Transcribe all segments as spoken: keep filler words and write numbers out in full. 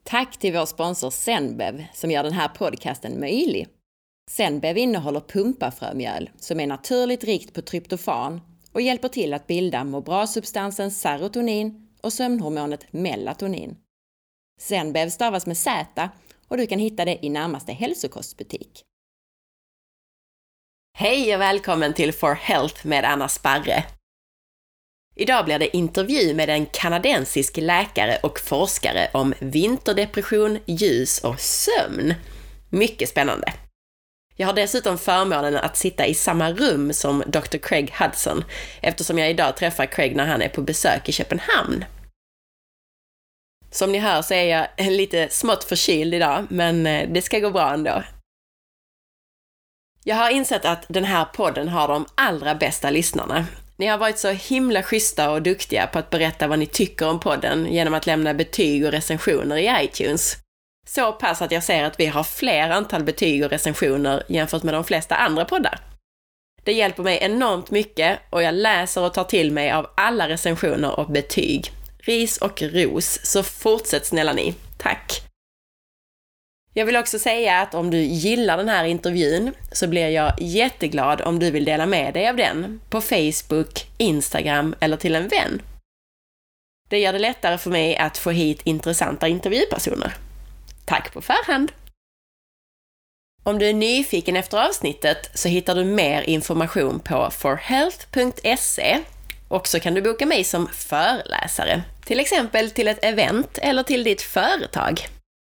Tack till vår sponsor Zenbev som gör den här podcasten möjlig. Zenbev innehåller pumpafrömjöl som är naturligt rikt på tryptofan och hjälper till att bilda må bra-substansen serotonin och sömnhormonet melatonin. Zenbev stavas med Z och du kan hitta det i närmaste hälsokostbutik. Hej och välkommen till For Health med Anna Sparre. Idag blir det intervju med en kanadensisk läkare och forskare om vinterdepression, ljus och sömn. Mycket spännande. Jag har dessutom förmånen att sitta i samma rum som doktor Craig Hudson eftersom jag idag träffar Craig när han är på besök i Köpenhamn. Som ni hör så är jag lite smått förkyld idag, men det ska gå bra ändå. Jag har insett att den här podden har de allra bästa lyssnarna. Ni har varit så himla schyssta och duktiga på att berätta vad ni tycker om podden genom att lämna betyg och recensioner i iTunes. Så pass att jag ser att vi har fler antal betyg och recensioner jämfört med de flesta andra poddar. Det hjälper mig enormt mycket och jag läser och tar till mig av alla recensioner och betyg. Ris och ros, så fortsätt snälla ni. Tack! Jag vill också säga att om du gillar den här intervjun så blir jag jätteglad om du vill dela med dig av den på Facebook, Instagram eller till en vän. Det gör det lättare för mig att få hit intressanta intervjupersoner. Tack på förhand! Om du är nyfiken efter avsnittet så hittar du mer information på for health punkt se och så kan du boka mig som föreläsare, till exempel till ett event eller till ditt företag.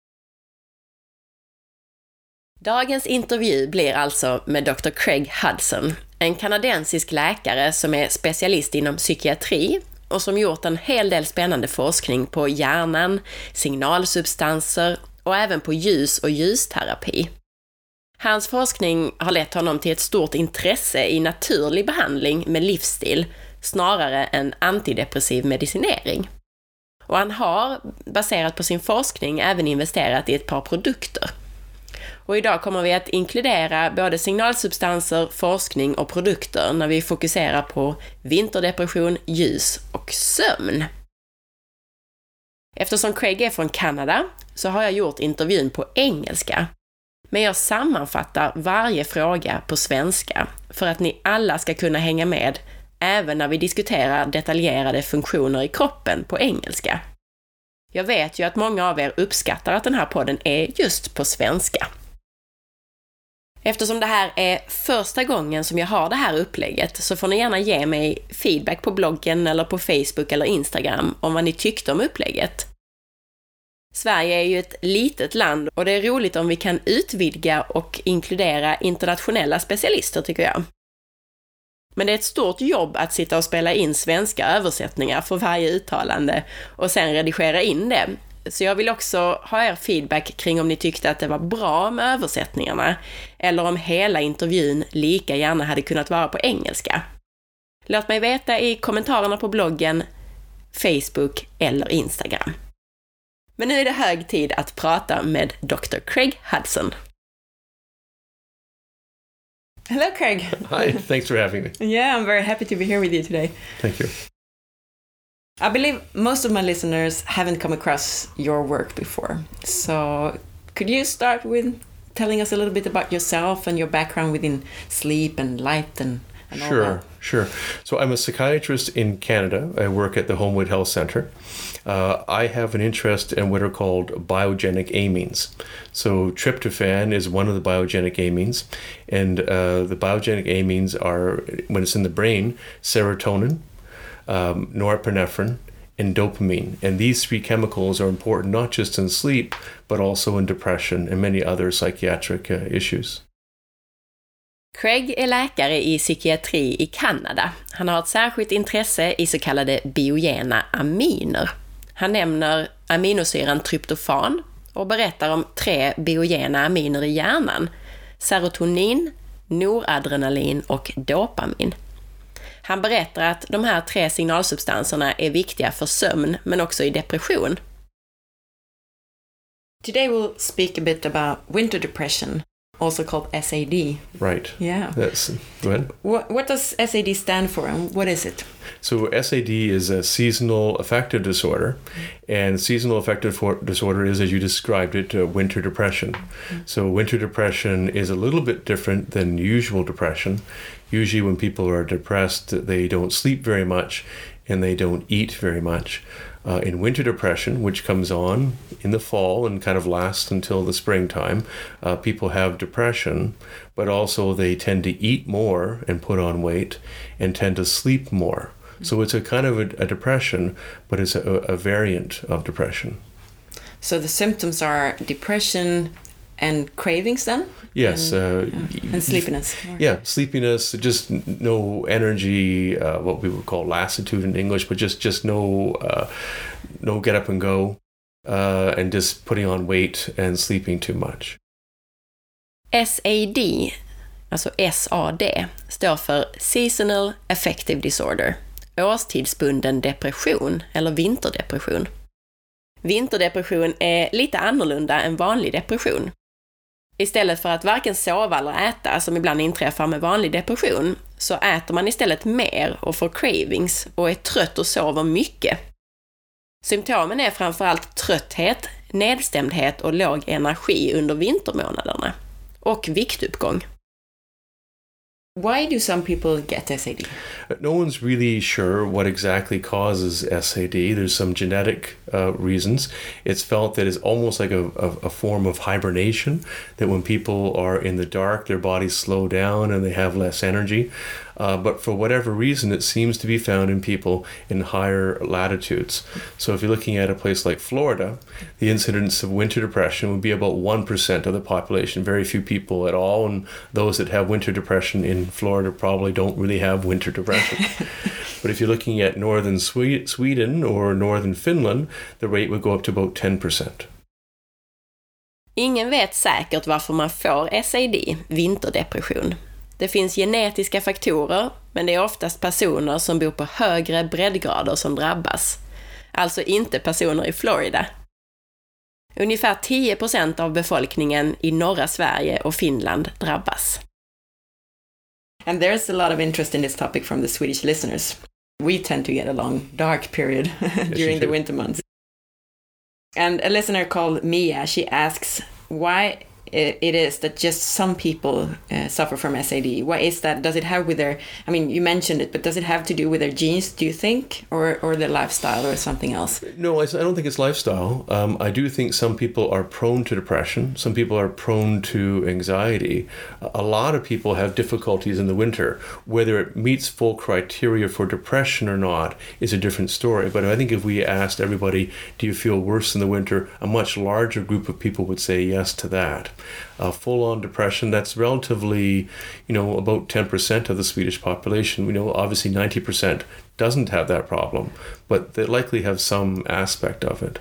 Dagens intervju blir alltså med doktor Craig Hudson, en kanadensisk läkare som är specialist inom psykiatri och som gjort en hel del spännande forskning på hjärnan, signalsubstanser och även på ljus- och ljusterapi. Hans forskning har lett honom till ett stort intresse i naturlig behandling med livsstil snarare än antidepressiv medicinering. Och han har, baserat på sin forskning, även investerat i ett par produkter. Och idag kommer vi att inkludera både signalsubstanser, forskning och produkter när vi fokuserar på vinterdepression, ljus och sömn. Eftersom Craig är från Kanada så har jag gjort intervjun på engelska. Men jag sammanfattar varje fråga på svenska för att ni alla ska kunna hänga med även när vi diskuterar detaljerade funktioner i kroppen på engelska. Jag vet ju att många av er uppskattar att den här podden är just på svenska. Eftersom det här är första gången som jag har det här upplägget så får ni gärna ge mig feedback på bloggen eller på Facebook eller Instagram om vad ni tyckte om upplägget. Sverige är ju ett litet land och det är roligt om vi kan utvidga och inkludera internationella specialister tycker jag. Men det är ett stort jobb att sitta och spela in svenska översättningar för varje uttalande och sen redigera in det. Så jag vill också ha er feedback kring om ni tyckte att det var bra med översättningarna eller om hela intervjun lika gärna hade kunnat vara på engelska. Låt mig veta i kommentarerna på bloggen, Facebook eller Instagram. Men nu är det hög tid att prata med doktor Craig Hudson. Hello, Craig. Hi, thanks for having me. Yeah, I'm very happy to be here with you today. Thank you. I believe most of my listeners haven't come across your work before. So could you start with telling us a little bit about yourself and your background within sleep and light and, and all Sure, that? sure. So I'm a psychiatrist in Canada. I work at the Homewood Health Center. Uh, I have an interest in what are called biogenic amines. So tryptophan is one of the biogenic amines, and uh, the biogenic amines are, when it's in the brain, serotonin, um, norepinephrine, and dopamine. And these three chemicals are important not just in sleep, but also in depression and many other psychiatric uh, issues. Craig är läkare i psykiatri i Kanada. Han har ett särskilt intresse i så kallade biogena aminer. Han nämner aminosyran tryptofan och berättar om tre biogena aminer i hjärnan: serotonin, noradrenalin och dopamin. Han berättar att de här tre signalsubstanserna är viktiga för sömn men också i depression. Today we'll speak a bit about winter depression. Also called S A D. Right. Yeah. That's, go ahead. What, what does S A D stand for, and what is it? So S A D is a seasonal affective disorder, and seasonal affective for- disorder is, as you described it, uh, winter depression. Mm-hmm. So winter depression is a little bit different than usual depression. Usually when people are depressed, they don't sleep very much and they don't eat very much. Uh, in winter depression, which comes on in the fall and kind of lasts until the springtime, uh, people have depression, but also they tend to eat more and put on weight and tend to sleep more. So it's a kind of a, a depression, but it's a, a variant of depression. So the symptoms are depression and cravings then? Yes. And, uh, yeah. and sleepiness. Yeah, sleepiness, just no energy, uh, what we would call lassitude in English, but just, just no, uh, no get up and go, uh, and just putting on weight and sleeping too much. S A D, alltså S A D, står för Seasonal Affective Disorder, årstidsbunden depression eller vinterdepression. Vinterdepression är lite annorlunda än vanlig depression. Istället för att varken sova eller äta, som ibland inträffar med vanlig depression, så äter man istället mer och får cravings och är trött och sover mycket. Symptomen är framförallt trötthet, nedstämdhet och låg energi under vintermånaderna. Och viktuppgång. Why do some people get S A D? No one's really sure what exactly causes S A D. There's some genetic uh, reasons. It's felt that it's almost like a, a, a form of hibernation, that when people are in the dark, their bodies slow down and they have less energy. Uh, but for whatever reason, it seems to be found in people in higher latitudes. So if you're looking at a place like Florida, the incidence of winter depression would be about one percent of the population, very few people at all. And those that have winter depression in Florida probably don't really have winter depression. But if you're looking at northern Sweden or northern Finland, the rate would go up to about ten percent. Ingen vet säkert varför man får S A D, vinterdepression. Det finns genetiska faktorer, men det är oftast personer som bor på högre breddgrader som drabbas. Alltså inte personer i Florida. Ungefär tio procent av befolkningen i norra Sverige och Finland drabbas. And there's a lot of interest in this topic from the Swedish listeners. We tend to get a long dark period during the winter months. And a listener called Mia, she asks why it is that just some people uh, suffer from S A D. What is that? Does it have with their, I mean, you mentioned it, but does it have to do with their genes, do you think, or or their lifestyle or something else? No, I don't think it's lifestyle. Um, I do think some people are prone to depression. Some people are prone to anxiety. A lot of people have difficulties in the winter. Whether it meets full criteria for depression or not is a different story. But I think if we asked everybody, do you feel worse in the winter, a much larger group of people would say yes to that. Uh, full-on depression, that's relatively, you know, about ten percent of the Swedish population. We know obviously ninety percent doesn't have that problem, but they likely have some aspect of it.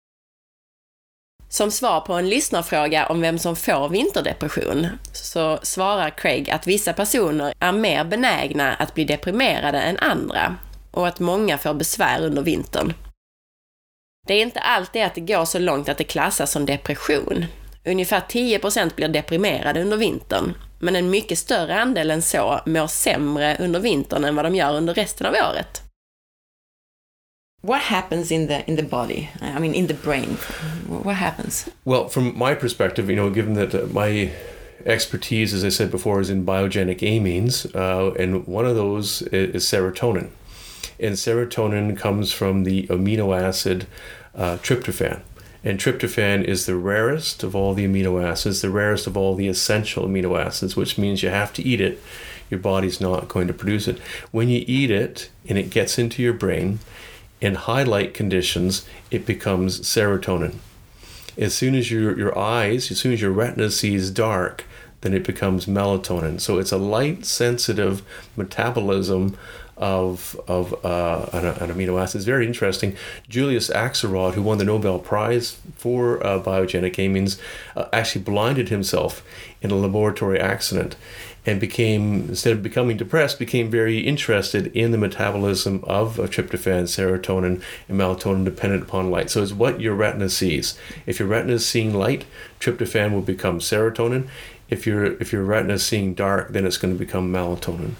Som svar på en lyssnarfråga om vem som får vinterdepression så svarar Craig att vissa personer är mer benägna att bli deprimerade än andra och att många får besvär under vintern. Det är inte alltid att det går så långt att det klassas som depression. Ungefär tio procent blir deprimerade under vintern, men en mycket större andel än så mår sämre under vintern än vad de gör under resten av året. What happens in the in the body? I mean, in the brain. What happens? Well, from my perspective, you know, given that uh, my expertise, as I said before, is in biogenic amines, uh, and one of those is, is serotonin. And serotonin comes from the amino acid uh, tryptophan. And tryptophan is the rarest of all the amino acids, the rarest of all the essential amino acids, which means you have to eat it. Your body's not going to produce it. When you eat it and it gets into your brain, in high light conditions, it becomes serotonin. As soon as your, your eyes, as soon as your retina sees dark, then it becomes melatonin. So it's a light-sensitive metabolism of of uh, an, an amino acid. It's very interesting. Julius Axelrod, who won the Nobel Prize for uh, biogenic amines, uh, actually blinded himself in a laboratory accident and became, instead of becoming depressed, became very interested in the metabolism of uh, tryptophan, serotonin, and melatonin dependent upon light. So it's what your retina sees. If your retina is seeing light, tryptophan will become serotonin. If, you're, if your retina is seeing dark, then it's going to become melatonin.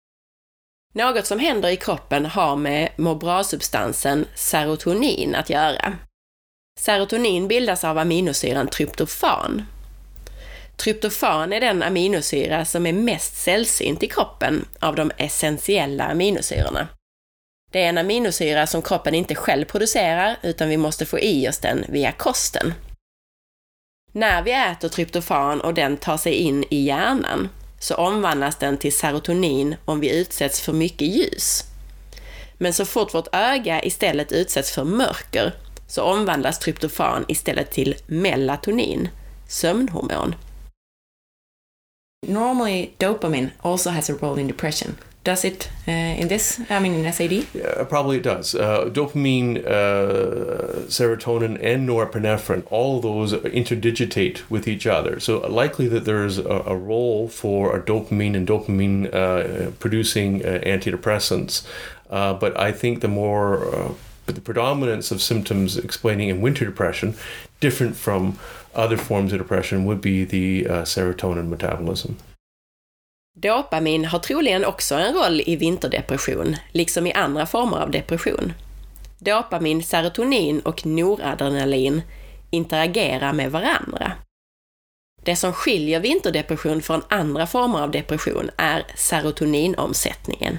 Något som händer i kroppen har med må bra-substansen serotonin att göra. Serotonin bildas av aminosyran tryptofan. Tryptofan är den aminosyra som är mest sällsynt i kroppen av de essentiella aminosyrorna. Det är en aminosyra som kroppen inte själv producerar utan vi måste få i oss den via kosten. När vi äter tryptofan och den tar sig in i hjärnan så omvandlas den till serotonin om vi utsätts för mycket ljus. Men så fort vårt öga istället utsätts för mörker så omvandlas tryptofan istället till melatonin, sömnhormon. Normally, dopamine also has a role in depression. Does it uh, in this? I mean, in S A D? Yeah, probably it does. Uh, dopamine, uh, serotonin, and norepinephrine, all of those interdigitate with each other. So likely that there's a, a role for a dopamine and dopamine uh, producing uh, antidepressants. Uh, but I think the more, uh, the predominance of symptoms explaining in winter depression, different from other forms of depression, would be the uh, serotonin metabolism. Dopamin har troligen också en roll i vinterdepression, liksom i andra former av depression. Dopamin, serotonin och noradrenalin interagerar med varandra. Det som skiljer vinterdepression från andra former av depression är serotoninomsättningen.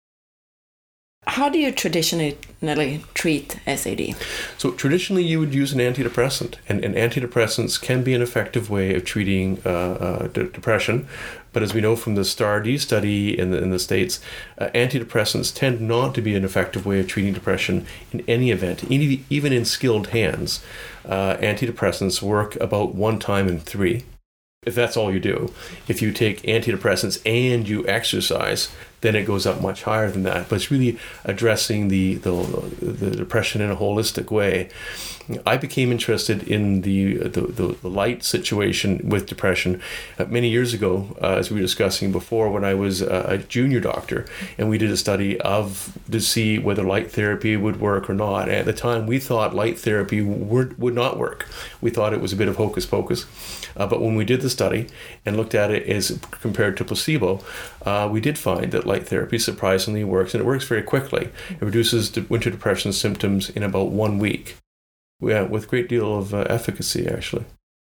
How do you traditionally treat S A D? So traditionally you would use an antidepressant, and, and antidepressants can be an effective way of treating uh, uh, de- depression. But as we know from the STAR-D study in the, in the States, uh, antidepressants tend not to be an effective way of treating depression in any event. Even, even in skilled hands, uh, antidepressants work about one time in three. If that's all you do. If you take antidepressants and you exercise, then it goes up much higher than that. But it's really addressing the, the, the depression in a holistic way. I became interested in the the, the, the light situation with depression uh, many years ago, uh, as we were discussing before, when I was uh, a junior doctor, and we did a study of to see whether light therapy would work or not. And at the time, we thought light therapy would, would not work. We thought it was a bit of hocus pocus. Uh, but when we did the study and looked at it as compared to placebo, uh, we did find that light therapy surprisingly works, and it works very quickly. It reduces the winter depression symptoms in about one week. Yeah, with great deal of uh, efficacy actually.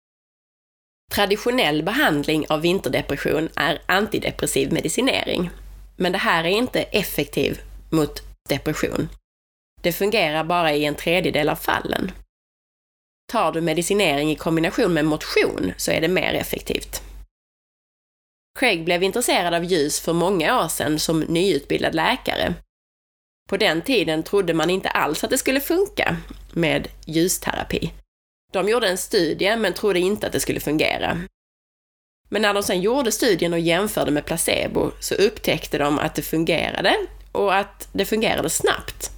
Traditionell behandling av vinterdepression är antidepressiv medicinering. Men det här är inte effektiv mot depression. Det fungerar bara i en tredjedel av fallen. Tar du medicinering i kombination med motion så är det mer effektivt. Craig blev intresserad av ljus för många år sedan som nyutbildad läkare. På den tiden trodde man inte alls att det skulle funka med ljusterapi. De gjorde en studie men trodde inte att det skulle fungera. Men när de sen gjorde studien och jämförde med placebo så upptäckte de att det fungerade och att det fungerade snabbt.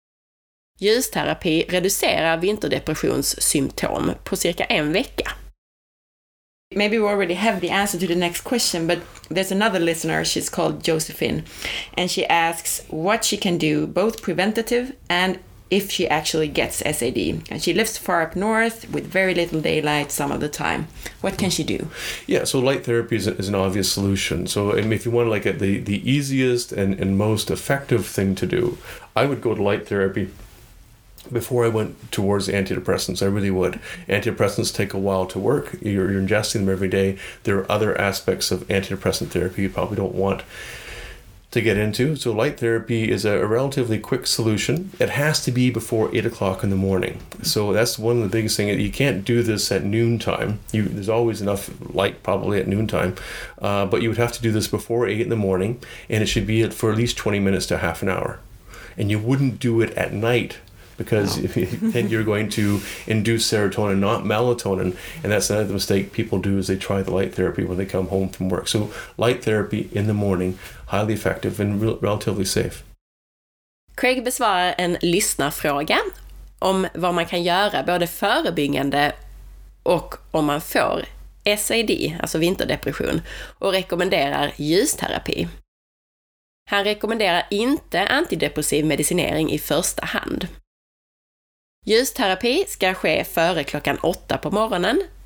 Ljusterapi reducerar vinterdepressionssymptom på cirka en vecka. Maybe we already have the answer to the next question, but there's another listener, she's called Josephine, and she asks what she can do, both preventative and if she actually gets S A D. And she lives far up north with very little daylight some of the time. What can she do? Yeah, so light therapy is, is an obvious solution. So I mean, if you want to like the, the easiest and, and most effective thing to do, I would go to light therapy before I went towards antidepressants. I really would. Antidepressants take a while to work. You're, you're ingesting them every day. There are other aspects of antidepressant therapy you probably don't want to get into. So light therapy is a, a relatively quick solution. It has to be before eight o'clock in the morning. So that's one of the biggest things. You can't do this at noontime. You, there's always enough light probably at noontime. Uh, but you would have to do this before eight in the morning, and it should be for at least twenty minutes to half an hour. And you wouldn't do it at night, because no. then you're going to induce serotonin, not melatonin, and that's another mistake people do is they try the light therapy when they come home from work. So light therapy in the morning, highly effective and re- relatively safe. Craig besvarar en lyssnarfråga om vad man kan göra både förebyggande och om man får S A D, alltså vinterdepression, och rekommenderar ljusterapi. Han rekommenderar inte antidepressiv medicinering i första hand. Ljusterapi ska ske före klockan åtta på morgonen.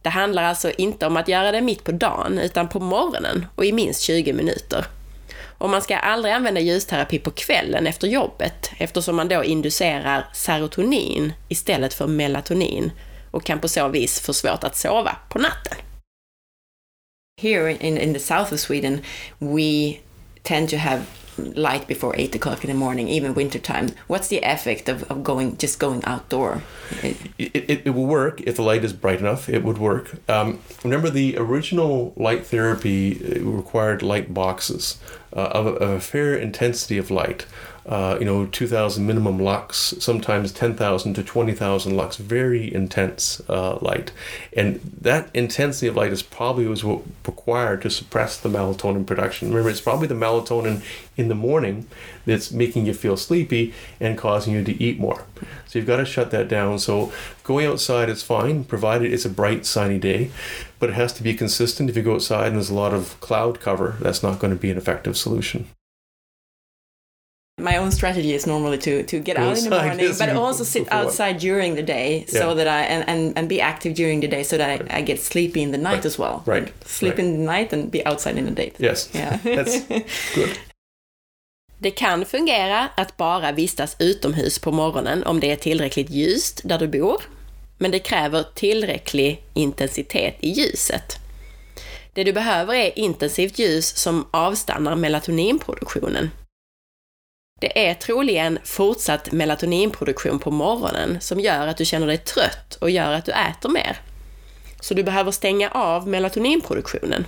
Det handlar alltså inte om att göra det mitt på dagen utan på morgonen och i minst tjugo minuter. Och man ska aldrig använda ljusterapi på kvällen efter jobbet eftersom man då inducerar serotonin istället för melatonin och kan på så vis få svårt att sova på natten. Here in, in the south of Sweden, we tend to have light before eight o'clock in the morning, even winter time. What's the effect of, of going just going outdoor? It, it, it will work if the light is bright enough. It would work. Um, remember, the original light therapy required light boxes uh, of, a, of a fair intensity of light. Uh, you know, two thousand minimum lux, sometimes ten thousand to twenty thousand lux, very intense uh, light. And that intensity of light is probably was what required to suppress the melatonin production. Remember, it's probably the melatonin in the morning that's making you feel sleepy and causing you to eat more. So you've got to shut that down. So going outside is fine, provided it's a bright, sunny day, but it has to be consistent. If you go outside and there's a lot of cloud cover, that's not going to be an effective solution. My own strategy is normally to, to get Go out in the outside, morning, yes, but you- also sit before. outside during the day so Yeah. that I and, and, and be active during the day so that I, I get sleepy in the night Right. as well. Right. Sleep Right. in the night and be outside in the day. Yes, Yeah. that's good. Det kan fungera att bara vistas utomhus på morgonen om det är tillräckligt ljust där du bor, men det kräver tillräcklig intensitet i ljuset. Det du behöver är intensivt ljus som avstannar melatoninproduktionen. Det är troligen fortsatt melatoninproduktion på morgonen som gör att du känner dig trött och gör att du äter mer. Så du behöver stänga av melatoninproduktionen.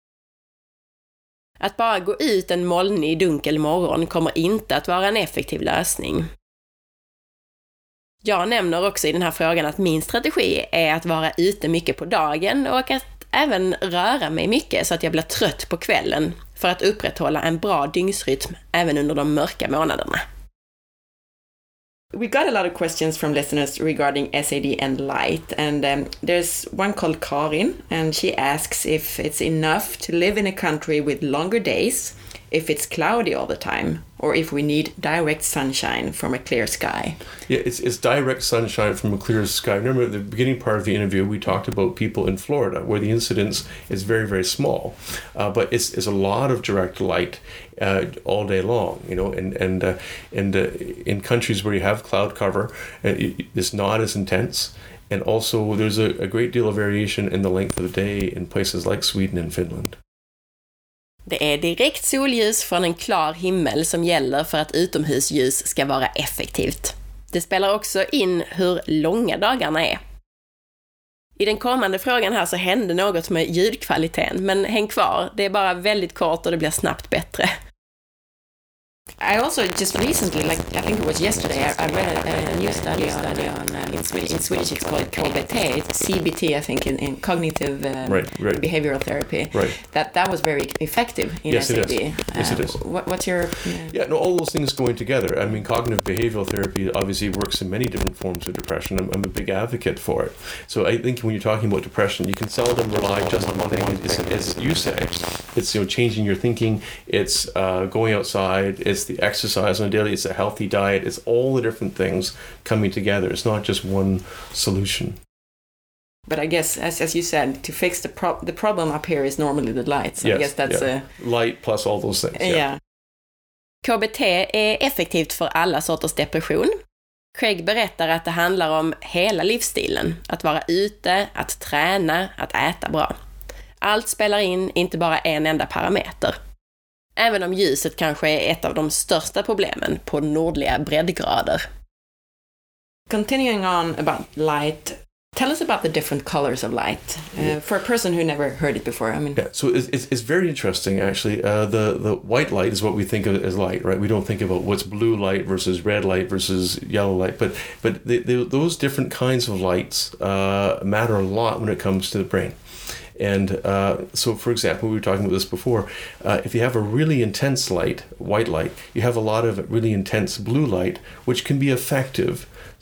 Att bara gå ut en molnig, dunkel morgon kommer inte att vara en effektiv lösning. Jag nämner också i den här frågan att min strategi är att vara ute mycket på dagen och att även röra mig mycket så att jag blir trött på kvällen för att upprätthålla en bra dygnsrytm även under de mörka månaderna. We got a lot of questions from listeners regarding S A D and light, and um, there's one called Karin, and she asks if it's enough to live in a country with longer days, if it's cloudy all the time, or if we need direct sunshine from a clear sky. Yeah, it's, it's direct sunshine from a clear sky. Remember at the beginning part of the interview, we talked about people in Florida where the incidence is very, very small. Uh, but it's, it's a lot of direct light uh, all day long, you know, and, and, uh, and uh, in countries where you have cloud cover, uh, it, it's not as intense. And also there's a, a great deal of variation in the length of the day in places like Sweden and Finland. Det är direkt solljus från en klar himmel som gäller för att utomhusljus ska vara effektivt. Det spelar också in hur långa dagarna är. I den kommande frågan här så hände något med ljudkvaliteten, men häng kvar, det är bara väldigt kort och det blir snabbt bättre. I also just recently, like I think it was yesterday, I, I read a, a new study on, on um, in Swedish. In Swedish, it's called K B T, it's C B T, I think, in, in cognitive um, Right, right. behavioral therapy. Right. That that was very effective in Yes, S A it D. is. Yes, it Uh, is. What, what's your? Yeah, no, all those things going together. I mean, cognitive behavioral therapy obviously works in many different forms of depression. I'm, I'm a big advocate for it. So I think when you're talking about depression, you can seldom rely just on one thing. It's, as you say, it's, you know, changing your thinking. It's uh, going outside. It's the exercise on a daily. It's a healthy diet. It's all the different things coming together. It's not just one solution. But I guess, as as you said, to fix the pro- the problem up here is normally the light. So Yes, I guess that's yeah. Light plus all those things. a yeah. K B T är effektivt för alla sorters depression. Craig berättar att det handlar om hela livsstilen. Att vara ute, att träna, att äta bra. Allt spelar in, inte bara en enda parameter. Även om ljuset kanske är ett av de största problemen på nordliga breddgrader. Continuing on about light, tell us about the different colors of light uh, for a person who never heard it before. I mean, Yeah, so it's, it's, it's very interesting, actually. Uh, the, the white light is what we think of as light, right? We don't think about what's blue light versus red light versus yellow light. But but the, the, those different kinds of lights uh, matter a lot when it comes to the brain. And uh, so, for example, we were talking about this before. Uh, if you have a really intense light, white light, you have a lot of really intense blue light, which can be effective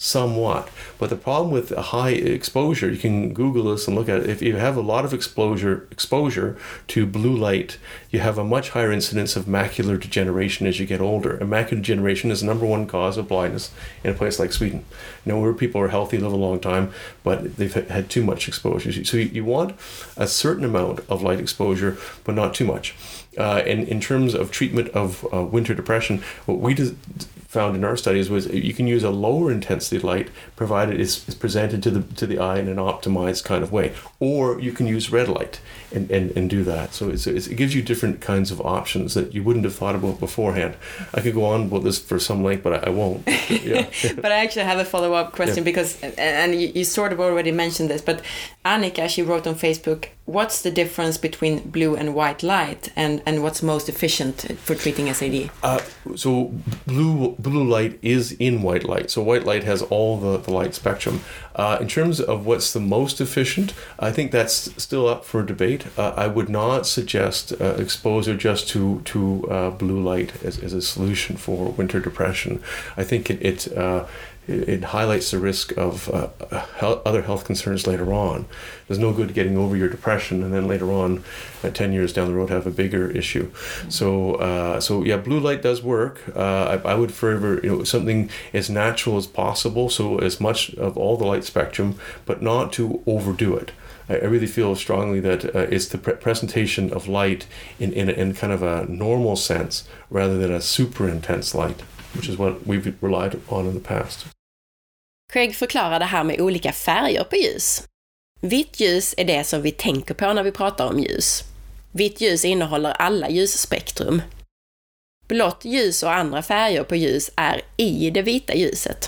somewhat. But the problem with a high exposure, you can Google this and look at it. If you have a lot of exposure exposure to blue light, you have a much higher incidence of macular degeneration as you get older. And macular degeneration is the number one cause of blindness in a place like Sweden. You know, where people are healthy, live a long time, but they've had too much exposure. So you want a certain amount of light exposure, but not too much. Uh, and in terms of treatment of uh, winter depression, what we did, found in our studies was you can use a lower intensity light provided it's, it's presented to the to the eye in an optimized kind of way, or you can use red light and, and, and do that. So it's, it's, it gives you different kinds of options that you wouldn't have thought about beforehand. I could go on about this for some length, but I, I won't. Yeah. But I actually have a follow-up question yeah. because, and you, you sort of already mentioned this, but Annika, she wrote on Facebook, what's the difference between blue and white light, and, and what's most efficient for treating S A D? Uh, so blue blue light is in white light. So white light has all the, the light spectrum. Uh, in terms of what's the most efficient, I think that's still up for debate. Uh, I would not suggest uh, exposure just to, to uh, blue light as, as a solution for winter depression. I think it... it uh, It highlights the risk of uh, health, other health concerns later on. There's no good getting over your depression and then later on, uh, ten years down the road, have a bigger issue. Mm-hmm. So, uh, so yeah, blue light does work. Uh, I, I would favor, you know, something as natural as possible. So as much of all the light spectrum, but not to overdo it. I, I really feel strongly that uh, it's the pre- presentation of light in, in in kind of a normal sense rather than a super intense light, which is what we've relied on in the past. Craig förklarar det här med olika färger på ljus. Vitt ljus är det som vi tänker på när vi pratar om ljus. Vitt ljus innehåller alla ljusspektrum. Blått ljus och andra färger på ljus är i det vita ljuset.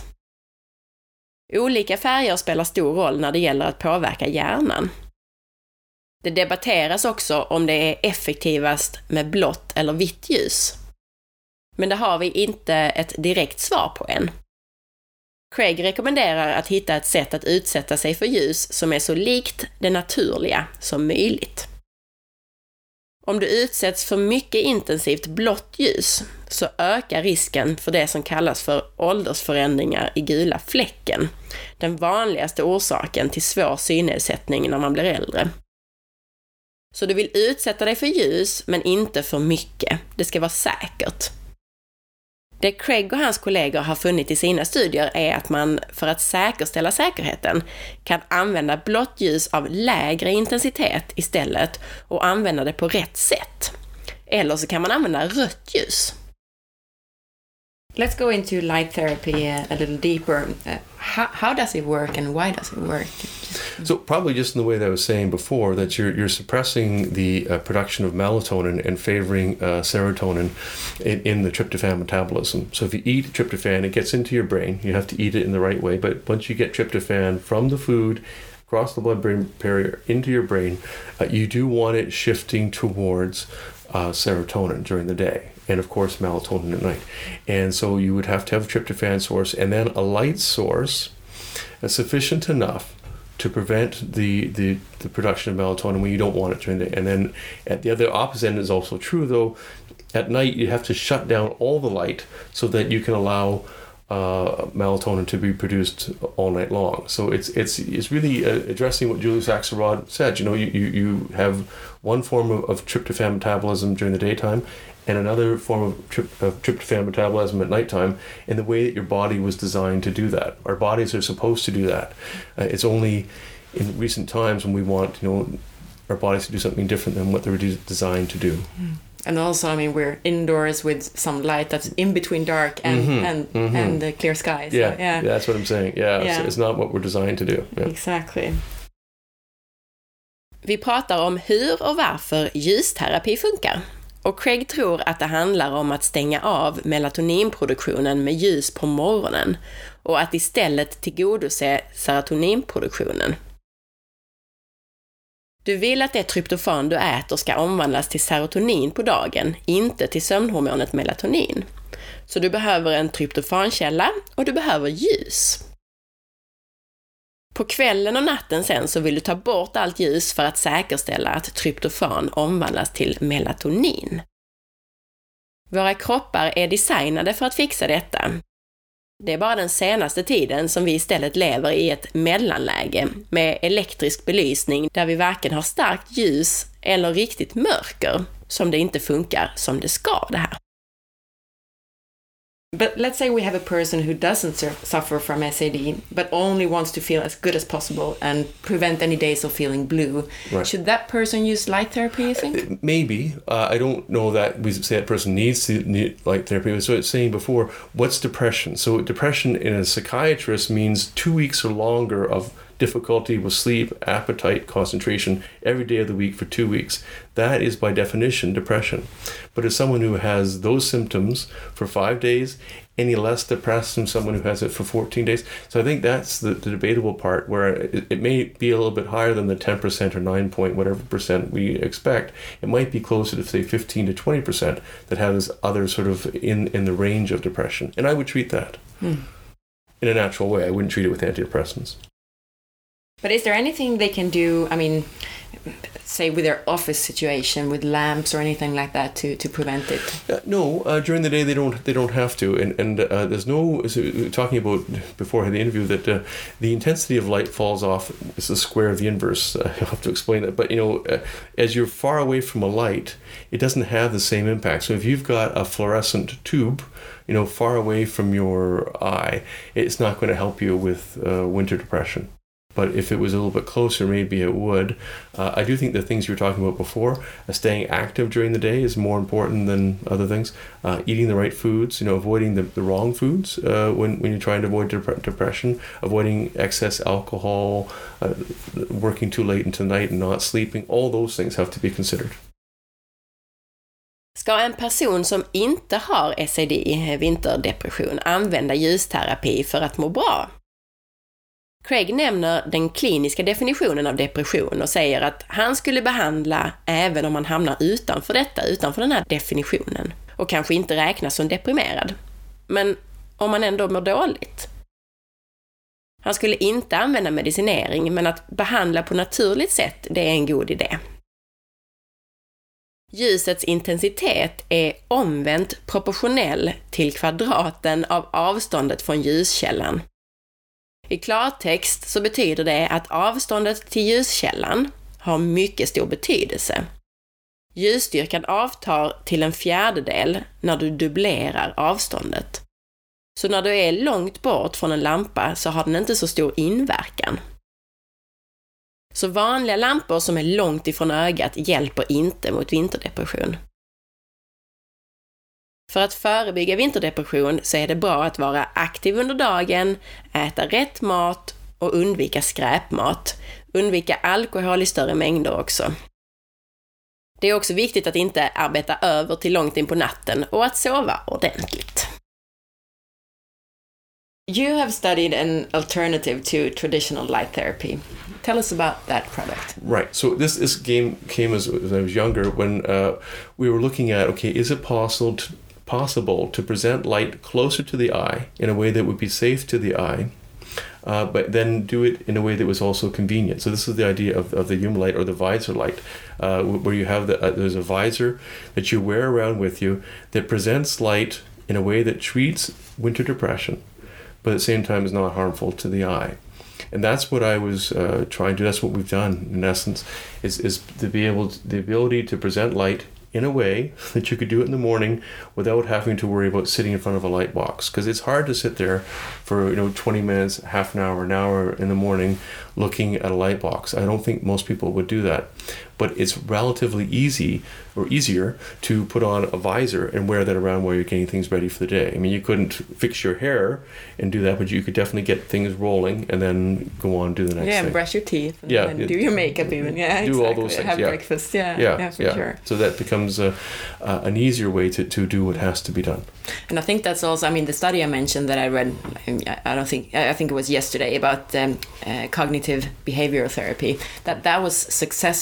Olika färger spelar stor roll när det gäller att påverka hjärnan. Det debatteras också om det är effektivast med blått eller vitt ljus. Men det har vi inte ett direkt svar på än. Craig rekommenderar att hitta ett sätt att utsätta sig för ljus som är så likt det naturliga som möjligt. Om du utsätts för mycket intensivt blått ljus så ökar risken för det som kallas för åldersförändringar i gula fläcken, den vanligaste orsaken till svår synnedsättning när man blir äldre. Så du vill utsätta dig för ljus men inte för mycket. Det ska vara säkert. Det Craig och hans kollegor har funnit i sina studier är att man för att säkerställa säkerheten kan använda blått ljus av lägre intensitet istället och använda det på rätt sätt. Eller så kan man använda rött ljus. Let's go into light therapy uh, a little deeper. Uh, how, how does it work and why does it work? So probably just in the way that I was saying before, that you're you're suppressing the uh, production of melatonin and favoring uh, serotonin in, in the tryptophan metabolism. So if you eat tryptophan, it gets into your brain. You have to eat it in the right way. But once you get tryptophan from the food, across the blood-brain barrier into your brain, uh, you do want it shifting towards uh, serotonin during the day. And of course melatonin at night. And so you would have to have a tryptophan source and then a light source uh, sufficient enough to prevent the, the, the production of melatonin when you don't want it during the day. And then at the other opposite end is also true though. At night you have to shut down all the light so that you can allow uh, melatonin to be produced all night long. So it's it's it's really uh, addressing what Julius Axelrod said. You know, you, you, you have one form of, of tryptophan metabolism during the daytime and another form of, tryp- of tryptophan metabolism at nighttime, in the way that your body was designed to do that. Our bodies are supposed to do that. Uh, it's only in recent times when we want, you know, our bodies to do something different than what they were de- designed to do. Mm. And also, I mean, we're indoors with some light that's in between dark and mm-hmm. and, mm-hmm. and the clear skies. So, yeah, yeah, yeah, that's what I'm saying. Yeah, yeah. It's, it's not what we're designed to do. Yeah. Exactly. Vi pratar om hur och varför ljusterapi funkar. Och Craig tror att det handlar om att stänga av melatoninproduktionen med ljus på morgonen och att istället tillgodose serotoninproduktionen. Du vill att det tryptofan du äter ska omvandlas till serotonin på dagen, inte till sömnhormonet melatonin. Så du behöver en tryptofankälla och du behöver ljus. På kvällen och natten sen så vill du ta bort allt ljus för att säkerställa att tryptofan omvandlas till melatonin. Våra kroppar är designade för att fixa detta. Det är bara den senaste tiden som vi istället lever i ett mellanläge med elektrisk belysning där vi varken har starkt ljus eller riktigt mörker, som det inte funkar som det ska det här. But let's say we have a person who doesn't sur- suffer from S A D, but only wants to feel as good as possible and prevent any days of feeling blue. Right. Should that person use light therapy, you think? Maybe. Uh, I don't know that we say that person needs to need light therapy. So it's saying before, what's depression? So depression in a psychiatrist means two weeks or longer of difficulty with sleep, appetite, concentration every day of the week for two weeks. That is by definition depression. But as someone who has those symptoms for five days, any less depressed than someone who has it for fourteen days. So I think that's the, the debatable part, where it, it may be a little bit higher than the ten percent or nine point whatever percent we expect. It might be closer to, say, fifteen to twenty percent that has other sort of in, in the range of depression. And I would treat that hmm. in a natural way. I wouldn't treat it with antidepressants. But is there anything they can do, I mean, say with their office situation, with lamps or anything like that to, to prevent it? Uh, no, uh, during the day they don't they don't have to, and and uh, there's no, as we were talking about before I had the interview, that uh, the intensity of light falls off. It's the square of the inverse. Uh, I'll have to explain that, but you know, uh, as you're far away from a light, it doesn't have the same impact. So if you've got a fluorescent tube, you know, far away from your eye, it's not going to help you with uh, winter depression. But if it was a little bit closer, maybe it would. Uh, I do think the things you were talking about before, uh, staying active during the day is more important than other things. Uh, eating the right foods, you know, avoiding the, the wrong foods uh, when, when you're trying to avoid dep- depression, avoiding excess alcohol, uh, working too late into the night and not sleeping, all those things have to be considered. Ska en person som inte har S A D, vinterdepression, använda ljusterapi för att må bra? Craig nämner den kliniska definitionen av depression och säger att han skulle behandla även om man hamnar utanför detta, utanför den här definitionen, och kanske inte räknas som deprimerad. Men om man ändå mår dåligt. Han skulle inte använda medicinering, men att behandla på naturligt sätt, det är en god idé. Ljusets intensitet är omvänt proportionell till kvadraten av avståndet från ljuskällan. I klartext så betyder det att avståndet till ljuskällan har mycket stor betydelse. Ljusstyrkan avtar till en fjärdedel när du dubblerar avståndet. Så när du är långt bort från en lampa så har den inte så stor inverkan. Så vanliga lampor som är långt ifrån ögat hjälper inte mot vinterdepression. För att förebygga vinterdepression så är det bra att vara aktiv under dagen, äta rätt mat och undvika skräpmat. Undvika alkohol i större mängder också. Det är också viktigt att inte arbeta över till långt in på natten och att sova ordentligt. You have studied an alternative to traditional light therapy. Tell us about that product. Right. So this this game came as, as I was younger, when uh, we were looking at, okay, is it possible to, possible to present light closer to the eye in a way that would be safe to the eye, uh, but then do it in a way that was also convenient. So this is the idea of, of the Hume light, or the visor light, uh, where you have the uh, there's a visor that you wear around with you that presents light in a way that treats winter depression, but at the same time is not harmful to the eye. And that's what I was uh, trying to. That's what we've done in essence, is is to be able to, the ability to present light in a way that you could do it in the morning without having to worry about sitting in front of a light box, because it's hard to sit there for, you know, twenty minutes, half an hour, an hour in the morning looking at a light box. I don't think most people would do that, but it's relatively easy or easier to put on a visor and wear that around while you're getting things ready for the day. I mean, you couldn't fix your hair and do that, but you could definitely get things rolling and then go on and do the next yeah, thing. Yeah, brush your teeth and, yeah, and it, do your makeup even. Yeah, do exactly. all those things. Have yeah. breakfast. Yeah, yeah, yeah, for yeah. sure. So that becomes a, uh, an easier way to, to do what has to be done. And I think that's also, I mean, the study I mentioned that I read, I don't think, I think it was yesterday, about um, uh, cognitive behavioral therapy, that that was successful in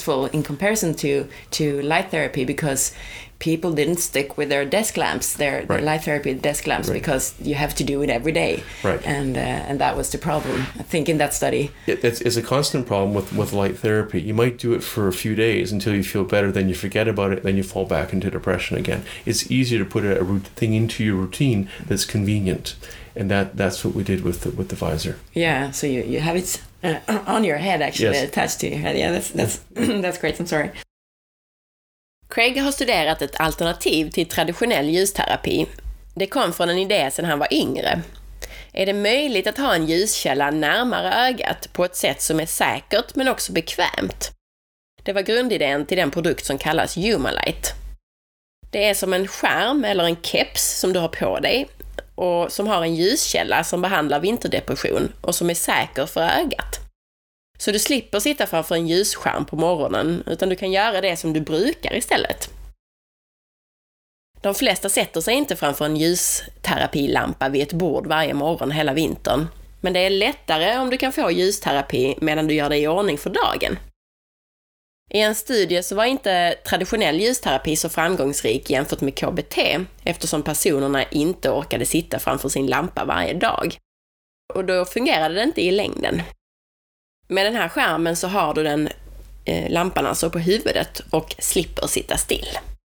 in comparison to to light therapy, because people didn't stick with their desk lamps, their, right. their light therapy desk lamps, right. because you have to do it every day. Right. And uh, and that was the problem, I think, in that study. It, it's, it's a constant problem with, with light therapy. You might do it for a few days until you feel better, then you forget about it, then you fall back into depression again. It's easier to put a, a thing into your routine that's convenient. And that, that's what we did with the, with the visor. Yeah, so you, you have it uh, on your head, actually, yes. attached to your head. Yeah, that's, that's, that's great, I'm sorry. Craig har studerat ett alternativ till traditionell ljusterapi. Det kom från en idé sedan han var yngre. Är det möjligt att ha en ljuskälla närmare ögat på ett sätt som är säkert men också bekvämt? Det var grundidén till den produkt som kallas Humalite. Det är som en skärm eller en keps som du har på dig och som har en ljuskälla som behandlar vinterdepression och som är säker för ögat. Så du slipper sitta framför en ljusskärm på morgonen, utan du kan göra det som du brukar istället. De flesta sätter sig inte framför en ljusterapilampa vid ett bord varje morgon hela vintern. Men det är lättare om du kan få ljusterapi medan du gör dig i ordning för dagen. I en studie så var inte traditionell ljusterapi så framgångsrik jämfört med K B T, eftersom personerna inte orkade sitta framför sin lampa varje dag. Och då fungerade det inte i längden. Med den här skärmen så har du den eh, lampan alltså på huvudet och slipper sitta still.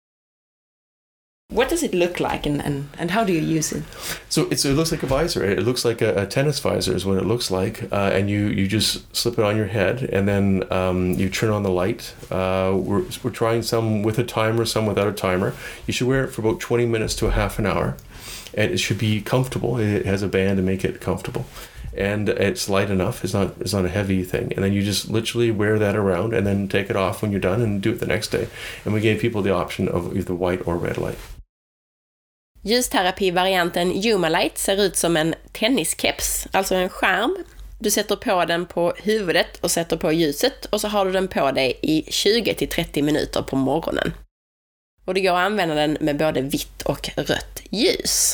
What does it look like and, and, and how do you use it? So it's, it looks like a visor. It looks like a, a tennis visor is what it looks like. Uh, and you, you just slip it on your head and then um, you turn on the light. Uh, we're, we're trying some with a timer, some without a timer. You should wear it for about twenty minutes to a half an hour. And it should be comfortable. It has a band to make it comfortable. And it's light enough. It's not it's not a heavy thing. And then you just literally wear that around and then take it off when you're done and do it the next day. And we gave people the option of either white or red light. Ljusterapi-varianten Humalite ser ut som en tenniskeps, alltså en skärm. Du sätter på den på huvudet och sätter på ljuset och så har du den på dig i tjugo till trettio minuter på morgonen. Och det går att använda den med både vitt och rött ljus.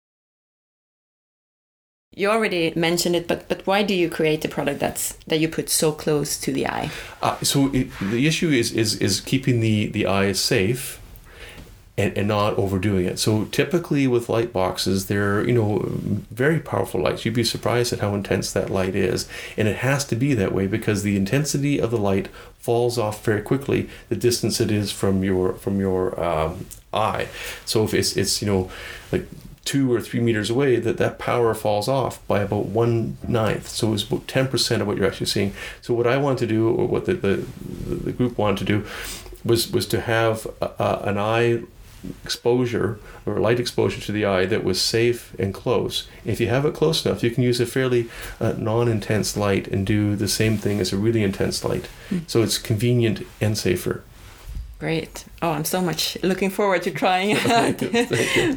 You already mentioned it, but but why do you create a product that's that you put so close to the eye? Uh, so it, the issue is is is keeping the the eye safe and, and not overdoing it. So typically with light boxes, they're, you know, very powerful lights. You'd be surprised at how intense that light is, and it has to be that way because the intensity of the light falls off very quickly the distance it is from your from your um, eye. So if it's it's you know like two or three meters away, that that power falls off by about one ninth. So it's about ten percent of what you're actually seeing. So what I want to do, or what the the, the group wanted to do, was was to have a, a, an eye exposure or light exposure to the eye that was safe and close. If you have it close enough, you can use a fairly uh, non-intense light and do the same thing as a really intense light. Mm. So it's convenient and safer. Great. Oh, I'm so much looking forward to trying it. Thank you. Thank you.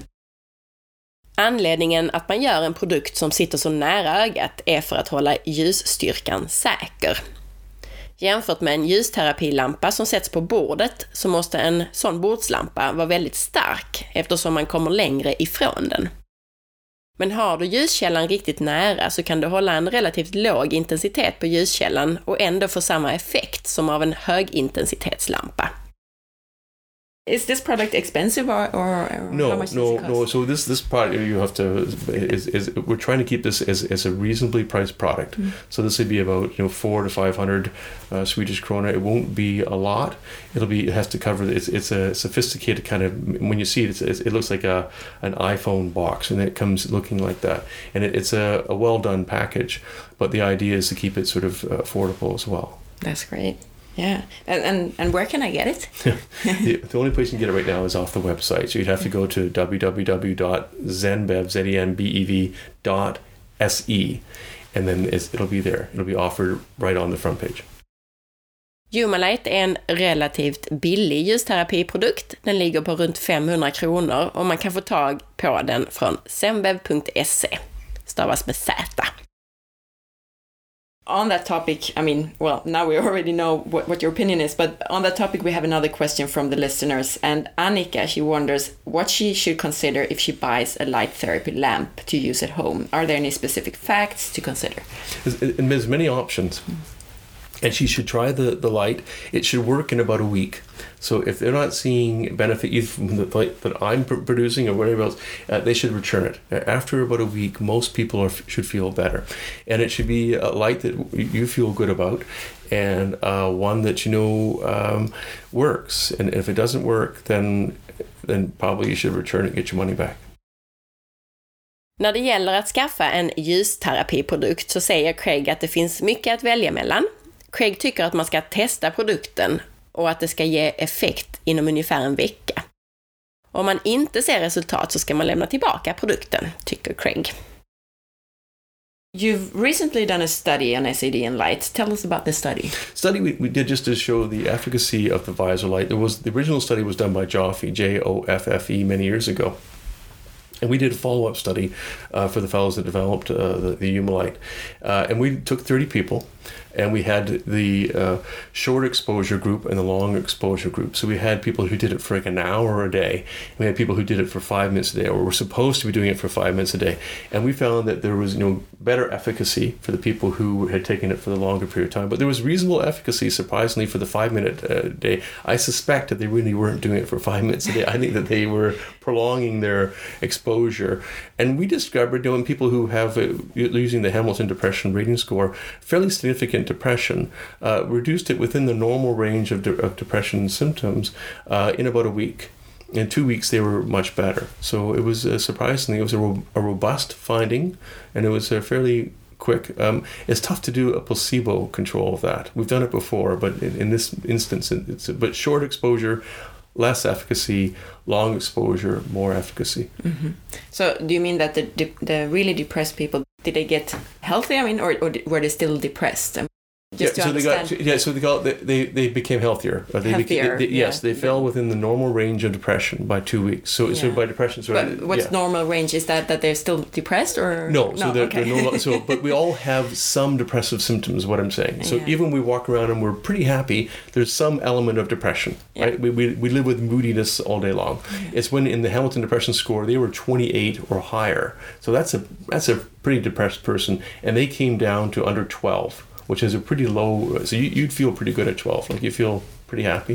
Anledningen att man gör en produkt som sitter så nära ögat är för att hålla ljusstyrkan säker. Jämfört med en ljusterapilampa som sätts på bordet så måste en sån bordslampa vara väldigt stark eftersom man kommer längre ifrån den. Men har du ljuskällan riktigt nära så kan du hålla en relativt låg intensitet på ljuskällan och ändå få samma effekt som av en högintensitetslampa. Is this product expensive or, or, or no, how much no, does it cost? no. So this this product you have to is is we're trying to keep this as, as a reasonably priced product. Mm. So this would be about you know four to five hundred uh, Swedish krona. It won't be a lot. It'll be it has to cover. It's it's a sophisticated kind of when you see it, it's, it looks like a an iPhone box and it comes looking like that. And it, it's a, a well done package. But the idea is to keep it sort of affordable as well. That's great. Yeah, and, and and where can I get it? the, the only place you can get it right now is off the website. So you'd have to go to w w w dot zenbev z e n b e v dot s e, and then it's, it'll be there. It'll be offered right on the front page. Humalite är en relativt billig ljusterapiprodukt. Den ligger på runt femhundra kronor och man kan få tag på den från zenbev punkt se. Stavas med Z. On that topic, I mean, well, now we already know what, what your opinion is, but on that topic we have another question from the listeners, and Annika, she wonders what she should consider if she buys a light therapy lamp to use at home. Are there any specific facts to consider? And there's many options. And she should try the, the light. It should work in about a week. So if they're not seeing benefit either from the light that I'm pr- producing or whatever else, uh, they should return it. After about a week, most people are, should feel better. And it should be a light that you feel good about and uh, one that you know um, works. And if it doesn't work, then, then probably you should return it and get your money back. När det gäller att skaffa en ljusterapiprodukt så säger Craig att det finns mycket att välja mellan. Craig tycker att man ska testa produkten och att det ska ge effekt inom ungefär en vecka. Om man inte ser resultat så ska man lämna tillbaka produkten, tycker Craig. You've recently done a study on S A D and light. Tell us about this study. Study we, we did just to show the efficacy of the visor light. There was the original study was done by Joffe, J O F F E, many years ago. And we did a follow-up study uh, for the fellows that developed uh, the, the Humalite. Uh, and we took thirty people, and we had the uh, short exposure group and the long exposure group. So we had people who did it for like an hour a day. And we had people who did it for five minutes a day, or were supposed to be doing it for five minutes a day. And we found that there was, you know, better efficacy for the people who had taken it for the longer period of time. But there was reasonable efficacy, surprisingly, for the five-minute uh, day. I suspect that they really weren't doing it for five minutes a day. I think that they were prolonging their exposure. And we discovered, you know, in people who have, uh, using the Hamilton Depression Rating Score, fairly significant depression, uh, reduced it within the normal range of, de- of depression symptoms uh, in about a week. In two weeks, they were much better. So it was uh, surprisingly, it was a, ro- a robust finding, and it was uh, fairly quick. Um, it's tough to do a placebo control of that. We've done it before, but in, in this instance, it's a, but short exposure, less efficacy, long exposure, more efficacy. Mm-hmm. So do you mean that the de- the really depressed people, did they get healthy? I mean, or, or were they still depressed? I mean, just yeah, to so understand. they got yeah, so they got they they became healthier. Uh, they Healthier, became, they, they, yes, yeah. they fell within the normal range of depression by two weeks. So Yeah. so by depression, so But what's yeah. normal range? Is that that they're still depressed or No, so they're, okay. they're no lo- so but we all have some depressive symptoms, what I'm saying. So Yeah. even when we walk around and we're pretty happy, there's some element of depression, Yeah. right? We, we we live with moodiness all day long. Yeah. It's when in the Hamilton Depression Score they were twenty-eight or higher. So that's a that's a pretty depressed person, and they came down to under twelve, which is a pretty low. So you, you'd feel pretty good at twelve, like you feel pretty happy.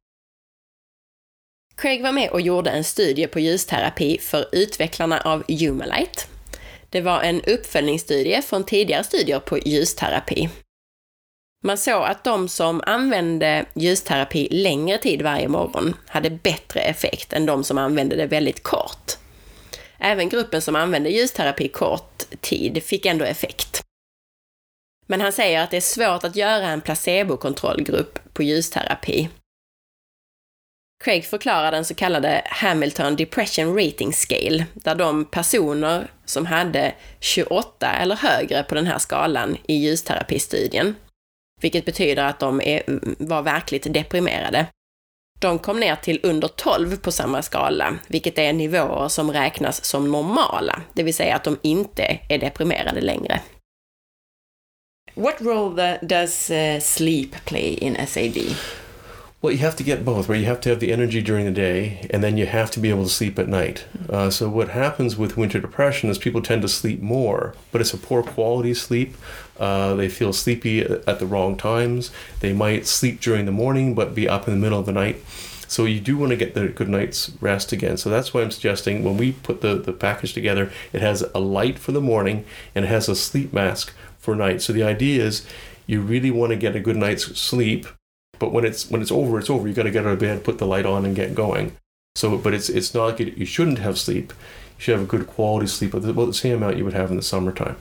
Craig var med och gjorde en studie på ljusterapi för utvecklarna av Humalite. Det var en uppföljningsstudie från tidigare studier på ljusterapi. Man såg att de som använde ljusterapi längre tid varje morgon hade bättre effekt än de som använde det väldigt kort. Även gruppen som använde ljusterapi kort tid fick ändå effekt. Men han säger att det är svårt att göra en placebokontrollgrupp på ljusterapi. Craig förklarar den så kallade Hamilton Depression Rating Scale, där de personer som hade tjugoåtta eller högre på den här skalan i ljusterapistudien, vilket betyder att de är, var verkligt deprimerade, de kom ner till under tolv på samma skala, vilket är nivåer som räknas som normala, det vill säga att de inte är deprimerade längre. What role the, does uh, sleep play in S A D? Well, you have to get both, where you have to have the energy during the day, and then you have to be able to sleep at night. Uh, so what happens with winter depression is people tend to sleep more, but it's a poor quality sleep. Uh, they feel sleepy at the wrong times. They might sleep during the morning, but be up in the middle of the night. So you do want to get the good night's rest again. So that's why I'm suggesting when we put the, the package together, it has a light for the morning, and it has a sleep mask for night. So the idea is you really want to get a good night's sleep. But when it's when it's over, it's over. You got to get out of bed, put the light on, and get going. So, but it's it's not like you, you shouldn't have sleep. You should have a good quality sleep, about the same amount you would have in the summertime.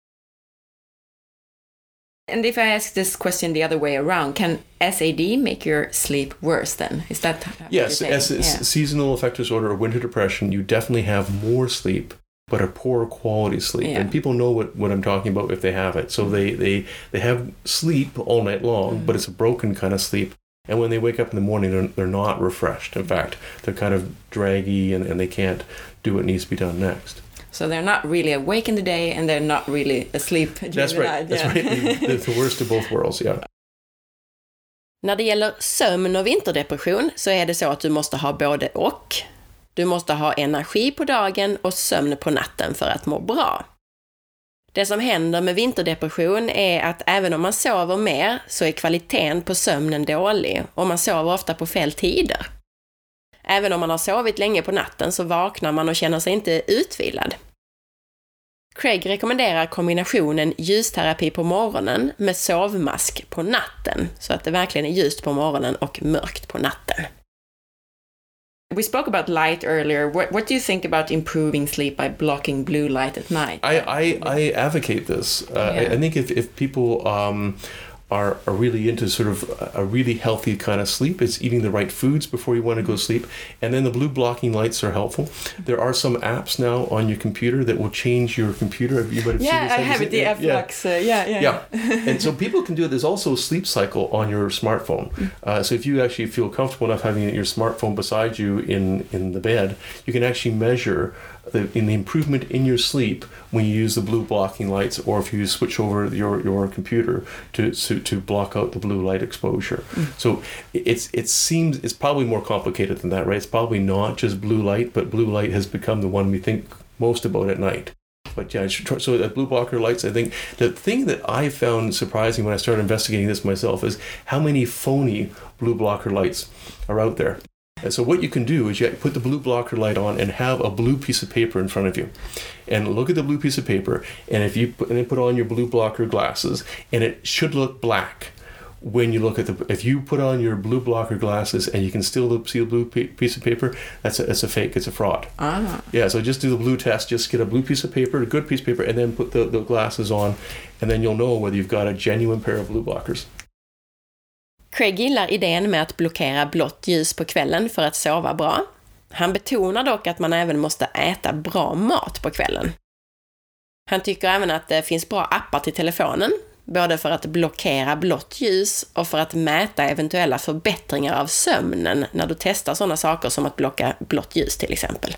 And if I ask this question the other way around, can S A D make your sleep worse then? Is that what yes? you're As saying? yeah. Seasonal affective disorder or winter depression, you definitely have more sleep, but a poor quality sleep. Yeah. And people know what, what I'm talking about if they have it. So they, they, they have sleep all night long, mm. but it's a broken kind of sleep. And when they wake up in the morning, they're, they're not refreshed. In fact, they're kind of draggy and, and they can't do what needs to be done next. So they're not really awake in the day and they're not really asleep during That's the right. night. That's yeah. right. The, the worst of both worlds, yeah. När det gäller sömn och vinterdepression så är det så att du måste ha både och. Du måste ha energi på dagen och sömn på natten för att må bra. Det som händer med vinterdepression är att även om man sover mer så är kvaliteten på sömnen dålig och man sover ofta på fel tider. Även om man har sovit länge på natten så vaknar man och känner sig inte utvilad. Craig rekommenderar kombinationen ljusterapi på morgonen med sovmask på natten så att det verkligen är ljust på morgonen och mörkt på natten. We spoke about light earlier. What, what do you think about improving sleep by blocking blue light at night? I, I, I advocate this. Uh, Yeah. I, I think if, if people um, are, are really into sort of a really healthy kind of sleep, it's eating the right foods before you want to go to sleep. And then the blue blocking lights are helpful. There are some apps now on your computer that will change your computer. You might have Yeah, seen this. I have it, the Yeah. F-Lux. Uh, yeah, yeah. Yeah, and so people can do it. There's also a sleep cycle on your smartphone. Uh, so if you actually feel comfortable enough having your smartphone beside you in, in the bed, you can actually measure the, in the improvement in your sleep when you use the blue blocking lights, or if you switch over your, your computer to, to to block out the blue light exposure. So it's it seems it's probably more complicated than that, right? It's probably not just blue light, but blue light has become the one we think most about at night. But yeah, so the blue blocker lights, I think the thing that I found surprising when I started investigating this myself is how many phony blue blocker lights are out there. And so what you can do is you put the blue blocker light on and have a blue piece of paper in front of you. And look at the blue piece of paper, and if you put, and then put on your blue blocker glasses, and it should look black when you look at the, if you put on your blue blocker glasses and you can still see the blue piece of paper, that's a, that's a fake, it's a fraud. Ah. Yeah, so just do the blue test, just get a blue piece of paper, a good piece of paper, and then put the, the glasses on, and then you'll know whether you've got a genuine pair of blue blockers. Craig gillar idén med att blockera blått ljus på kvällen för att sova bra. Han betonar dock att man även måste äta bra mat på kvällen. Han tycker även att det finns bra appar till telefonen, både för att blockera blått ljus och för att mäta eventuella förbättringar av sömnen när du testar sådana saker som att blocka blått ljus till exempel.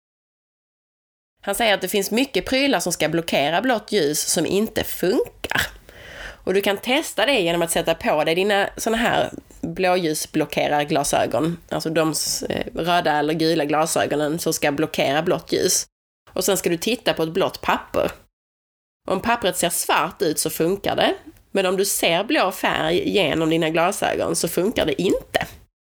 Han säger att det finns mycket prylar som ska blockera blått ljus som inte funkar. Och du kan testa det genom att sätta på dig dina såna här blåljusblockerarglasögon, alltså de röda eller gula glasögonen som ska blockera blått ljus. Och sen ska du titta på ett blått papper. Om pappret ser svart ut så funkar det, men om du ser blå färg genom dina glasögon så funkar det inte.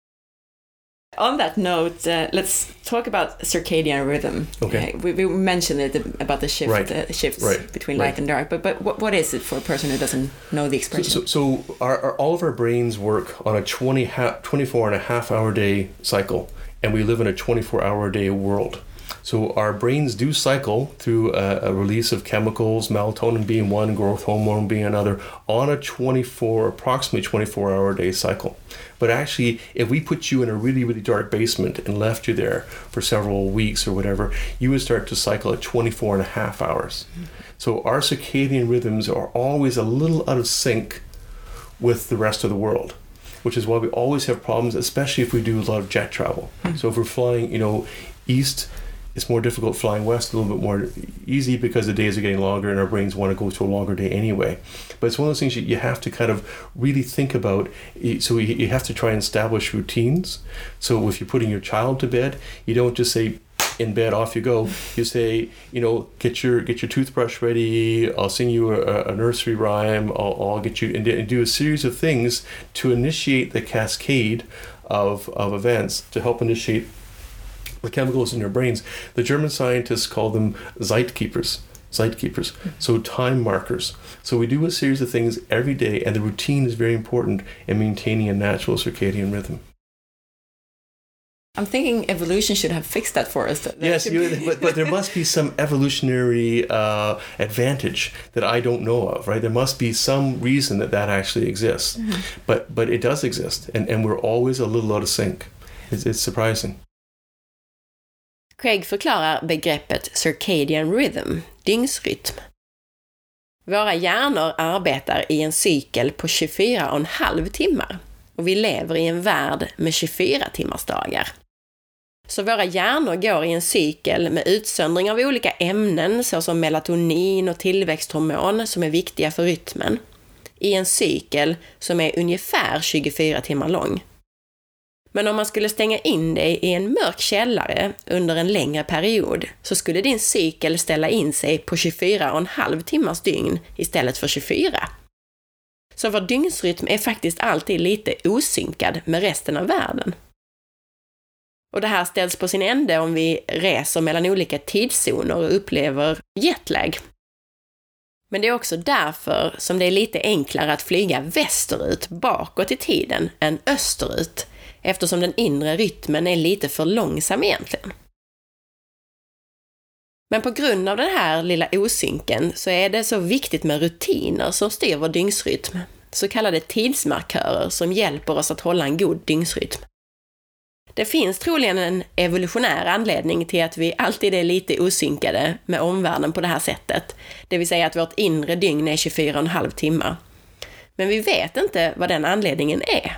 On that note, uh, let's talk about circadian rhythm. Okay. Uh, we, we mentioned it about the shift, Right. uh, shifts Right. between light Right. and dark, but but what, what is it for a person who doesn't know the So, expression? so, so our, our, all of our brains work on a twenty ha- twenty-four and a half hour day cycle, and we live in a twenty-four hour a day world. So our brains do cycle through a, a release of chemicals, melatonin being one, growth hormone being another, on a twenty-four, approximately twenty-four hour a day cycle. But actually, if we put you in a really, really dark basement and left you there for several weeks or whatever, you would start to cycle at twenty-four and a half hours. Mm-hmm. So our circadian rhythms are always a little out of sync with the rest of the world, which is why we always have problems, especially if we do a lot of jet travel. Mm-hmm. So if we're flying, you know, east, it's more difficult. Flying west, a little bit more easy because the days are getting longer and our brains want to go to a longer day anyway. But it's one of those things you have to kind of really think about. So you have to try and establish routines. So if you're putting your child to bed, you don't just say, in bed, off you go. You say, you know, get your get your toothbrush ready. I'll sing you a, a nursery rhyme. I'll, I'll get you and, and do a series of things to initiate the cascade of of events to help initiate the chemicals in your brains. The German scientists call them Zeitkeepers. Zeitkeepers. So time markers. So we do a series of things every day, and the routine is very important in maintaining a natural circadian rhythm. I'm thinking evolution should have fixed that for us. That Yes, should you, be- but, but there must be some evolutionary uh, advantage that I don't know of, right? There must be some reason that that actually exists. Mm-hmm. But but it does exist, and, and we're always a little out of sync. It's, it's surprising. Craig förklarar begreppet circadian rhythm, dygnsrytm. Våra hjärnor arbetar i en cykel på tjugofyra och en halv timmar och vi lever i en värld med tjugofyra timmars dagar. Så våra hjärnor går i en cykel med utsöndring av olika ämnen såsom melatonin och tillväxthormon som är viktiga för rytmen, i en cykel som är ungefär tjugofyra timmar lång. Men om man skulle stänga in dig i en mörk källare under en längre period så skulle din cykel ställa in sig på tjugofyra och en halv timmars dygn istället för tjugofyra. Så vår dygnsrytm är faktiskt alltid lite osynkad med resten av världen. Och det här ställs på sin ände om vi reser mellan olika tidszoner och upplever jetlag. Men det är också därför som det är lite enklare att flyga västerut bakåt i tiden än österut, eftersom den inre rytmen är lite för långsam egentligen. Men på grund av den här lilla osynken så är det så viktigt med rutiner som styr vår dygnsrytm, så kallade tidsmarkörer som hjälper oss att hålla en god dygnsrytm. Det finns troligen en evolutionär anledning till att vi alltid är lite osynkade med omvärlden på det här sättet, det vill säga att vårt inre dygn är tjugofyra och en halv timmar. Men vi vet inte vad den anledningen är.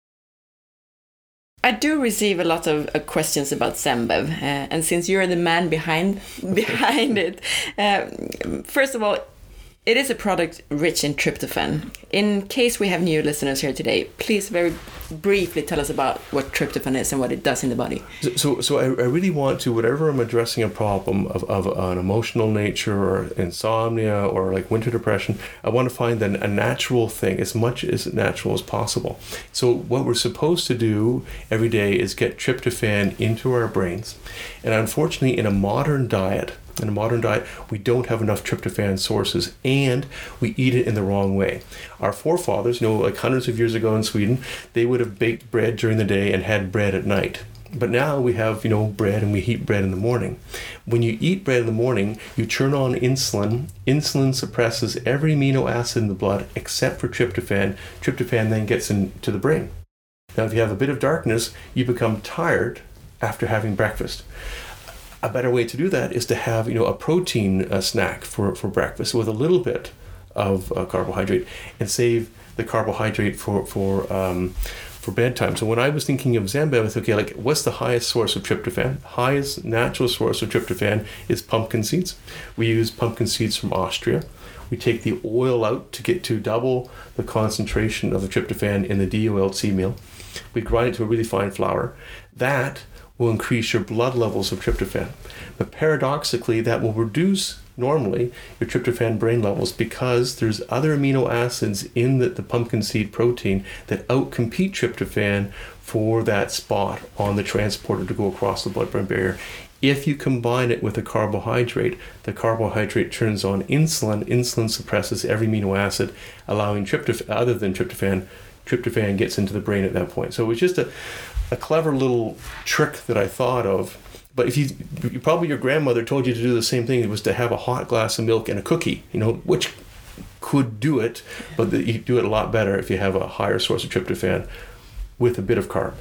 I do receive a lot of uh, questions about Zenbev, uh, and since you're the man behind behind it, uh, first of all, it is a product rich in tryptophan. In case we have new listeners here today, please very briefly tell us about what tryptophan is and what it does in the body. So, so, so I, I really want to, whatever I'm addressing a problem of, of an emotional nature or insomnia or like winter depression, I want to find an, a natural thing, as much as natural as possible. So what we're supposed to do every day is get tryptophan into our brains. And unfortunately, in a modern diet, In a modern diet, we don't have enough tryptophan sources, and we eat it in the wrong way. Our forefathers, you know, like hundreds of years ago in Sweden, they would have baked bread during the day and had bread at night. But now we have, you know, bread and we eat bread in the morning. When you eat bread in the morning, you turn on insulin. Insulin suppresses every amino acid in the blood except for tryptophan. Tryptophan then gets into the brain. Now, if you have a bit of darkness, you become tired after having breakfast. A better way to do that is to have, you know, a protein uh, snack for, for breakfast with a little bit of uh, carbohydrate, and save the carbohydrate for for um, for bedtime. So when I was thinking of Zenbev, I thought, okay, like, what's the highest source of tryptophan? Highest natural source of tryptophan is pumpkin seeds. We use pumpkin seeds from Austria. We take the oil out to get to double the concentration of the tryptophan in the D O L C meal. We grind it to a really fine flour. That will increase your blood levels of tryptophan. But paradoxically, that will reduce normally your tryptophan brain levels, because there's other amino acids in the, the pumpkin seed protein that outcompete tryptophan for that spot on the transporter to go across the blood-brain barrier. If you combine it with a carbohydrate, the carbohydrate turns on insulin. Insulin suppresses every amino acid, allowing tryptophan, other than tryptophan, tryptophan gets into the brain at that point. So it was just a a clever little trick that I thought of. But if you, you probably your grandmother told you to do the same thing. It was to have a hot glass of milk and a cookie, you know, which could do it, but the, you do it a lot better if you have a higher source of tryptophan with a bit of carb.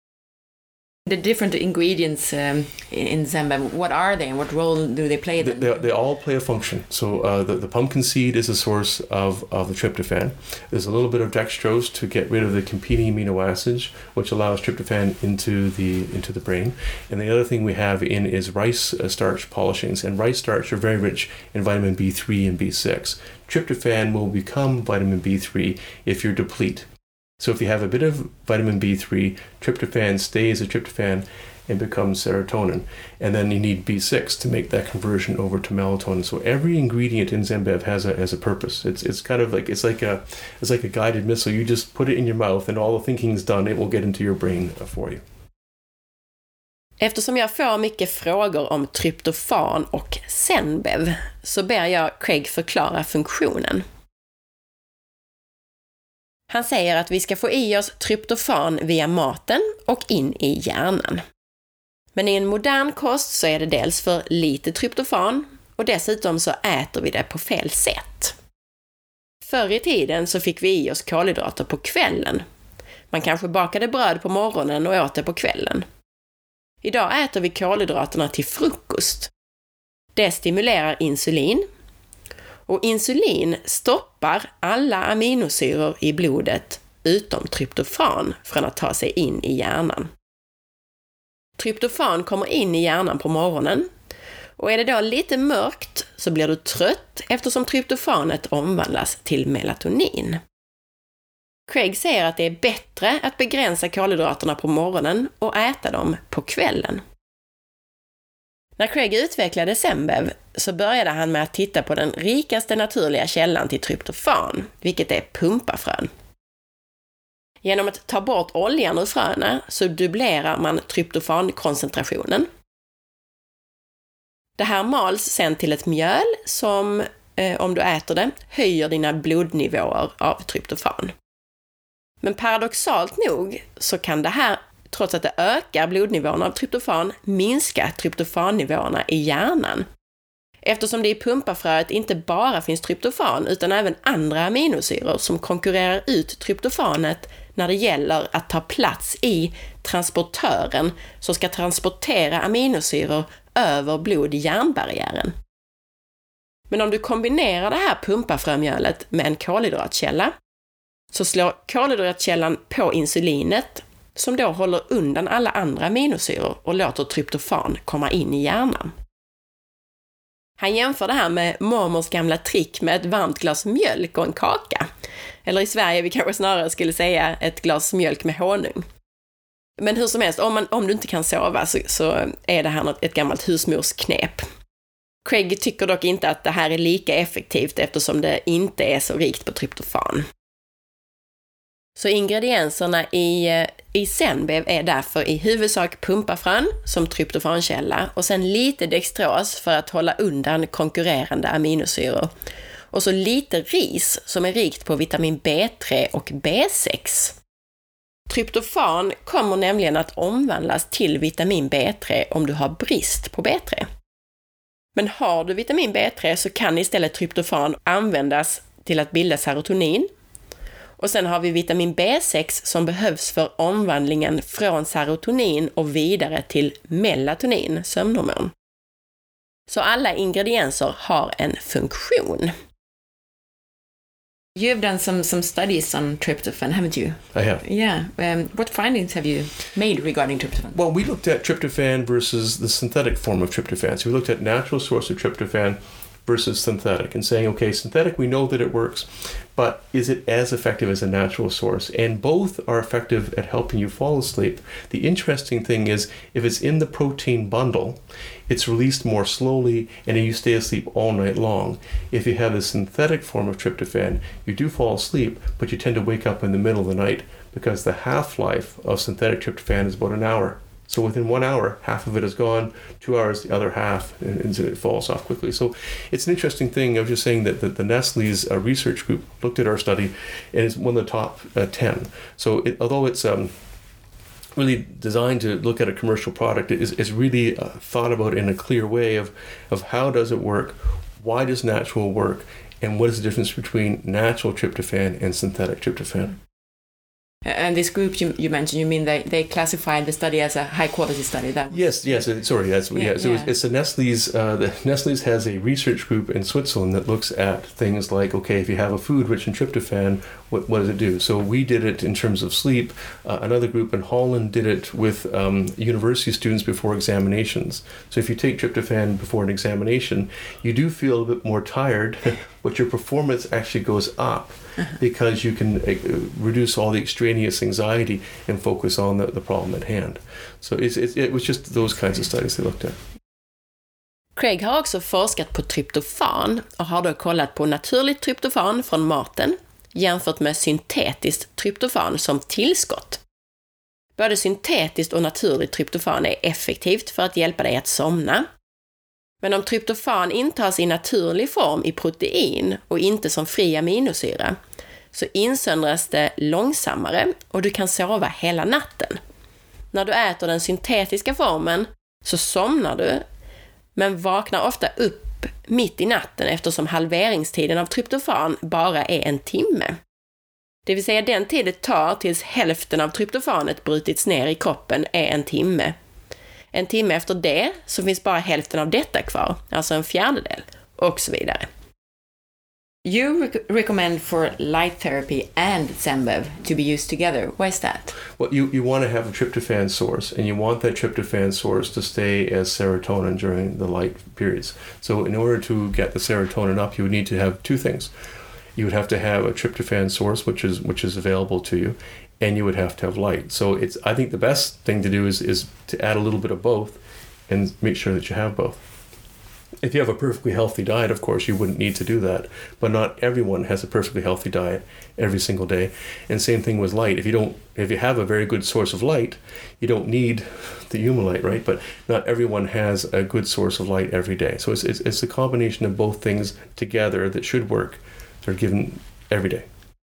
The different ingredients um, in Zenbev, what are they and what role do they play? They, they, they all play a function. So uh, the, the pumpkin seed is a source of, of the tryptophan. There's a little bit of dextrose to get rid of the competing amino acids, which allows tryptophan into the into the brain. And the other thing we have in is rice starch polishings. And rice starch are very rich in vitamin B three and B six. Tryptophan will become vitamin B three if you're deplete. So if you have a bit of vitamin B three, tryptophan stays as tryptophan and becomes serotonin. And then you need B six to make that conversion over to melatonin. So every ingredient in Zenbev has a has a purpose. It's it's kind of like it's like a it's like a guided missile. You just put it in your mouth and all the thinking's done. It will get into your brain for you. Eftersom jag får mycket frågor om tryptofan och Zenbev så ber jag Craig förklara funktionen. Han säger att vi ska få i oss tryptofan via maten och in i hjärnan. Men i en modern kost så är det dels för lite tryptofan och dessutom så äter vi det på fel sätt. Förr i tiden så fick vi i oss kolhydrater på kvällen. Man kanske bakade bröd på morgonen och åt det på kvällen. Idag äter vi kolhydraterna till frukost. Det stimulerar insulin. Och insulin stoppar alla aminosyror i blodet utom tryptofan från att ta sig in i hjärnan. Tryptofan kommer in i hjärnan på morgonen, och är det då lite mörkt så blir du trött eftersom tryptofanet omvandlas till melatonin. Craig säger att det är bättre att begränsa kolhydraterna på morgonen och äta dem på kvällen. När Craig utvecklade Zenbev så började han med att titta på den rikaste naturliga källan till tryptofan, vilket är pumpafrön. Genom att ta bort oljan ur fröna så dubblerar man tryptofankoncentrationen. Det här mals sen till ett mjöl som, eh, om du äter det, höjer dina blodnivåer av tryptofan. Men paradoxalt nog så kan det här, trots att det ökar blodnivåerna av tryptofan, minska tryptofannivåerna i hjärnan. Eftersom det i pumpafröet inte bara finns tryptofan utan även andra aminosyror som konkurrerar ut tryptofanet när det gäller att ta plats i transportören som ska transportera aminosyror över blod-hjärnbarriären. Men om du kombinerar det här pumpafrömjölet med en kolhydratkälla så slår kolhydratkällan på insulinet som då håller undan alla andra aminosyror och låter tryptofan komma in i hjärnan. Han jämför det här med mormors gamla trick med ett varmt glas mjölk och en kaka. Eller i Sverige vi kanske snarare skulle säga ett glas mjölk med honung. Men hur som helst, om, man, om du inte kan sova så, så är det här ett gammalt husmorsknep. Craig tycker dock inte att det här är lika effektivt eftersom det inte är så rikt på tryptofan. Så ingredienserna i, i Zenbev är därför i huvudsak pumpafrön som tryptofankälla och sen lite dextros för att hålla undan konkurrerande aminosyror. Och så lite ris som är rikt på vitamin B tre och B sex. Tryptofan kommer nämligen att omvandlas till vitamin B tre om du har brist på B tre. Men har du vitamin B tre så kan istället tryptofan användas till att bilda serotonin. Och sen har vi vitamin B sex som behövs för omvandlingen från serotonin och vidare till melatonin, sömnhormon. Så alla ingredienser har en funktion. You've done some, some studies on tryptophan, haven't you? I have. Yeah. Um, what findings have you made regarding tryptophan? Well, we looked at tryptophan versus the synthetic form of tryptophan. So we looked at natural source of tryptophan versus synthetic and saying, okay, synthetic, we know that it works, but is it as effective as a natural source? And both are effective at helping you fall asleep. The interesting thing is if it's in the protein bundle, it's released more slowly and you stay asleep all night long. If you have a synthetic form of tryptophan, you do fall asleep, but you tend to wake up in the middle of the night because the half-life of synthetic tryptophan is about an hour. So within one hour, half of it is gone, two hours, the other half, and, and it falls off quickly. So it's an interesting thing. I was just saying that, that the Nestle's uh, research group looked at our study and it's one of the top uh, ten. So it, although it's um, really designed to look at a commercial product, it is, it's really uh, thought about in a clear way of, of how does it work, why does natural work, and what is the difference between natural tryptophan and synthetic tryptophan. And this group you, you mentioned, you mean they, they classified the study as a high quality study? That yes, yes. uh, Sorry, that's yeah. yeah so yeah. It's, it's a Nestle's. Uh, the Nestle's has a research group in Switzerland that looks at things like, okay, if you have a food rich in tryptophan, what, what does it do? So we did it in terms of sleep. Uh, another group in Holland did it with um, university students before examinations. So if you take tryptophan before an examination, you do feel a bit more tired, but your performance actually goes up. Uh-huh. Because you can uh, reduce all the extraneous anxiety and focus on the, the problem at hand. So it's, it's, it was just those kinds of studies they looked at. Craig har också forskat på tryptofan och har då kollat på naturligt tryptofan från maten jämfört med syntetiskt tryptofan som tillskott. Både syntetiskt och naturligt tryptofan är effektivt för att hjälpa dig att somna. Men om tryptofan intas i naturlig form i protein och inte som fri aminosyra så insöndras det långsammare och du kan sova hela natten. När du äter den syntetiska formen så somnar du men vaknar ofta upp mitt i natten eftersom halveringstiden av tryptofan bara är en timme. Det vill säga den tid det tar tills hälften av tryptofanet brutits ner i kroppen är en timme. En timme efter det så finns bara hälften av detta kvar, alltså en fjärdedel, och så vidare. You rec- recommend for light therapy and Zenbev to be used together. Why is that? Well, you, you want to have a tryptophan source, and you want that tryptophan source to stay as serotonin during the light periods. So in order to get the serotonin up, you would need to have two things. you would have to have a tryptophan source, which is which is available to you, and you would have to have light. So it's I think the best thing to do is is to add a little bit of both, and make sure that you have both. If you have a perfectly healthy diet, of course, you wouldn't need to do that. But not everyone has a perfectly healthy diet every single day. And same thing with light. If you don't, if you have a very good source of light, you don't need the Humulite, right? But not everyone has a good source of light every day. So it's it's, it's a combination of both things together that should work. They're given every day.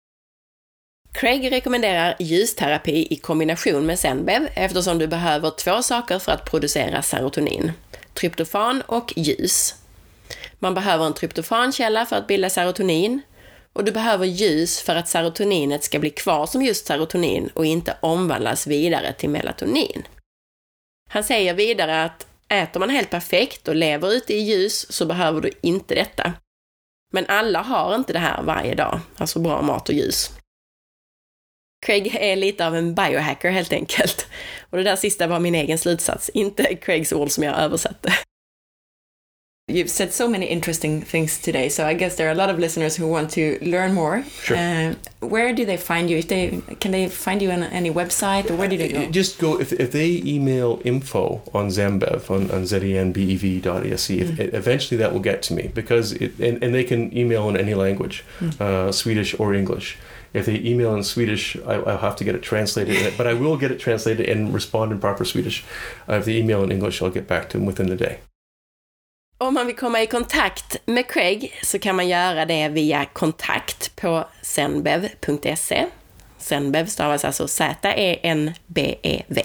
Craig rekommenderar ljusterapi i kombination med Zenbev eftersom du behöver två saker för att producera serotonin. Tryptofan och ljus. Man behöver en tryptofankälla för att bilda serotonin och du behöver ljus för att serotoninet ska bli kvar som just serotonin och inte omvandlas vidare till melatonin. Han säger vidare att äter man helt perfekt och lever ute i ljus så behöver du inte detta. Men alla har inte det här varje dag, alltså bra mat och ljus. Craig är lite av en biohacker helt enkelt. Och det där sista var min egen slutsats, inte Craigs ord som jag översatte. You've said so many interesting things today, so I guess there are a lot of listeners who want to learn more. Sure. Uh, where do they find you? If they, can they find you on any website, or where do they go? Just go, if, if they email info on Zenbev, on, on zenbev dot e s e, mm. if, eventually that will get to me, because it, and, and they can email in any language, mm. uh, Swedish or English. If they email in Swedish, I, I'll have to get it translated, but I will get it translated and respond in proper Swedish. Uh, if they email in English, I'll get back to them within the day. Om man vill komma i kontakt med Craig så kan man göra det via kontakt på zenbev punkt se. Zenbev stavas alltså Z E N B E V.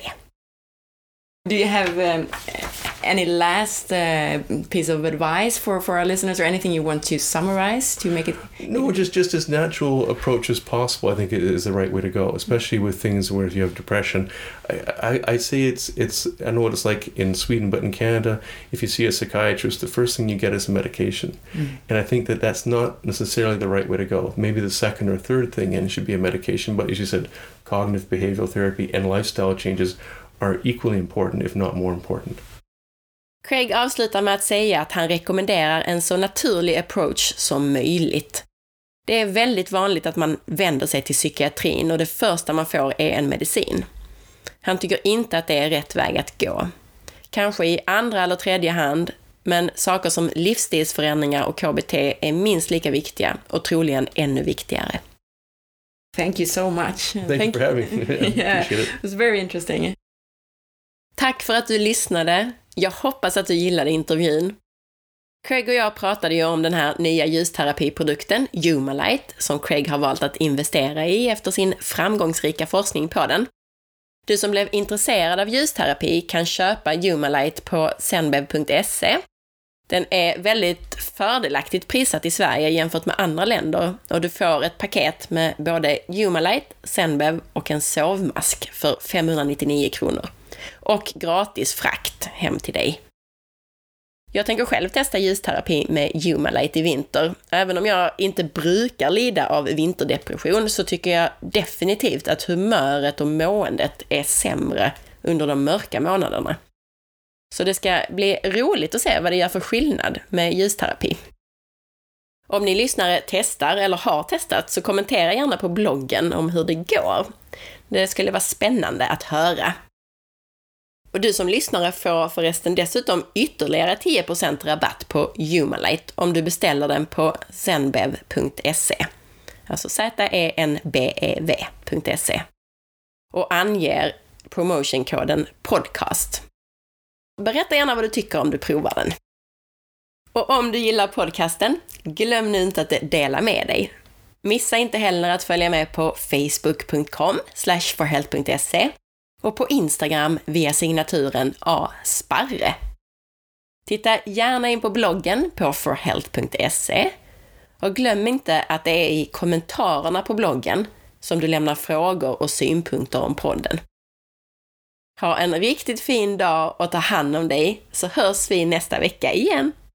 Do you have um, any last uh, piece of advice for, for our listeners, or anything you want to summarize to make it? No, just just as natural approach as possible. I think it is the right way to go, especially with things where if you have depression. I, I, I say it's it's I know what it's like in Sweden, but in Canada, if you see a psychiatrist, the first thing you get is a medication, mm. and I think that that's not necessarily the right way to go. Maybe the second or third thing in should be a medication, but as you said, cognitive behavioral therapy and lifestyle changes are equally important, if not more important. Craig avslutar med att säga att han rekommenderar en så naturlig approach som möjligt. Det är väldigt vanligt att man vänder sig till psykiatrin och det första man får är en medicin. Han tycker inte att det är rätt väg att gå. Kanske i andra eller tredje hand, men saker som livsstilsförändringar och K B T är minst lika viktiga och troligen ännu viktigare. Thank you so much. Thank, Thank you for having me. Yeah, yeah, appreciate it. It was very interesting. Tack för att du lyssnade. Jag hoppas att du gillade intervjun. Craig och jag pratade ju om den här nya ljusterapiprodukten, Humulite, som Craig har valt att investera i efter sin framgångsrika forskning på den. Du som blev intresserad av ljusterapi kan köpa Humulite på zenbev punkt se. Den är väldigt fördelaktigt prissatt i Sverige jämfört med andra länder och du får ett paket med både Humulite, Zenbev och en sovmask för femhundranittionio kronor. Och gratis frakt hem till dig. Jag tänker själv testa ljusterapi med Humulite i vinter. Även om jag inte brukar lida av vinterdepression så tycker jag definitivt att humöret och måendet är sämre under de mörka månaderna. Så det ska bli roligt att se vad det gör för skillnad med ljusterapi. Om ni lyssnare testar eller har testat så kommentera gärna på bloggen om hur det går. Det skulle vara spännande att höra. Och du som lyssnare får förresten dessutom ytterligare tio procent rabatt på Humulite om du beställer den på zenbev punkt se. Alltså Z E N B E V punkt se. Och anger promotionkoden podcast. Berätta gärna vad du tycker om du provar den. Och om du gillar podcasten, glöm nu inte att dela med dig. Missa inte heller att följa med på facebook punkt com slash forhealth punkt se och på Instagram via signaturen asparre. Titta gärna in på bloggen på forhealth punkt se och glöm inte att det är i kommentarerna på bloggen som du lämnar frågor och synpunkter om podden. Ha en riktigt fin dag och ta hand om dig så hörs vi nästa vecka igen.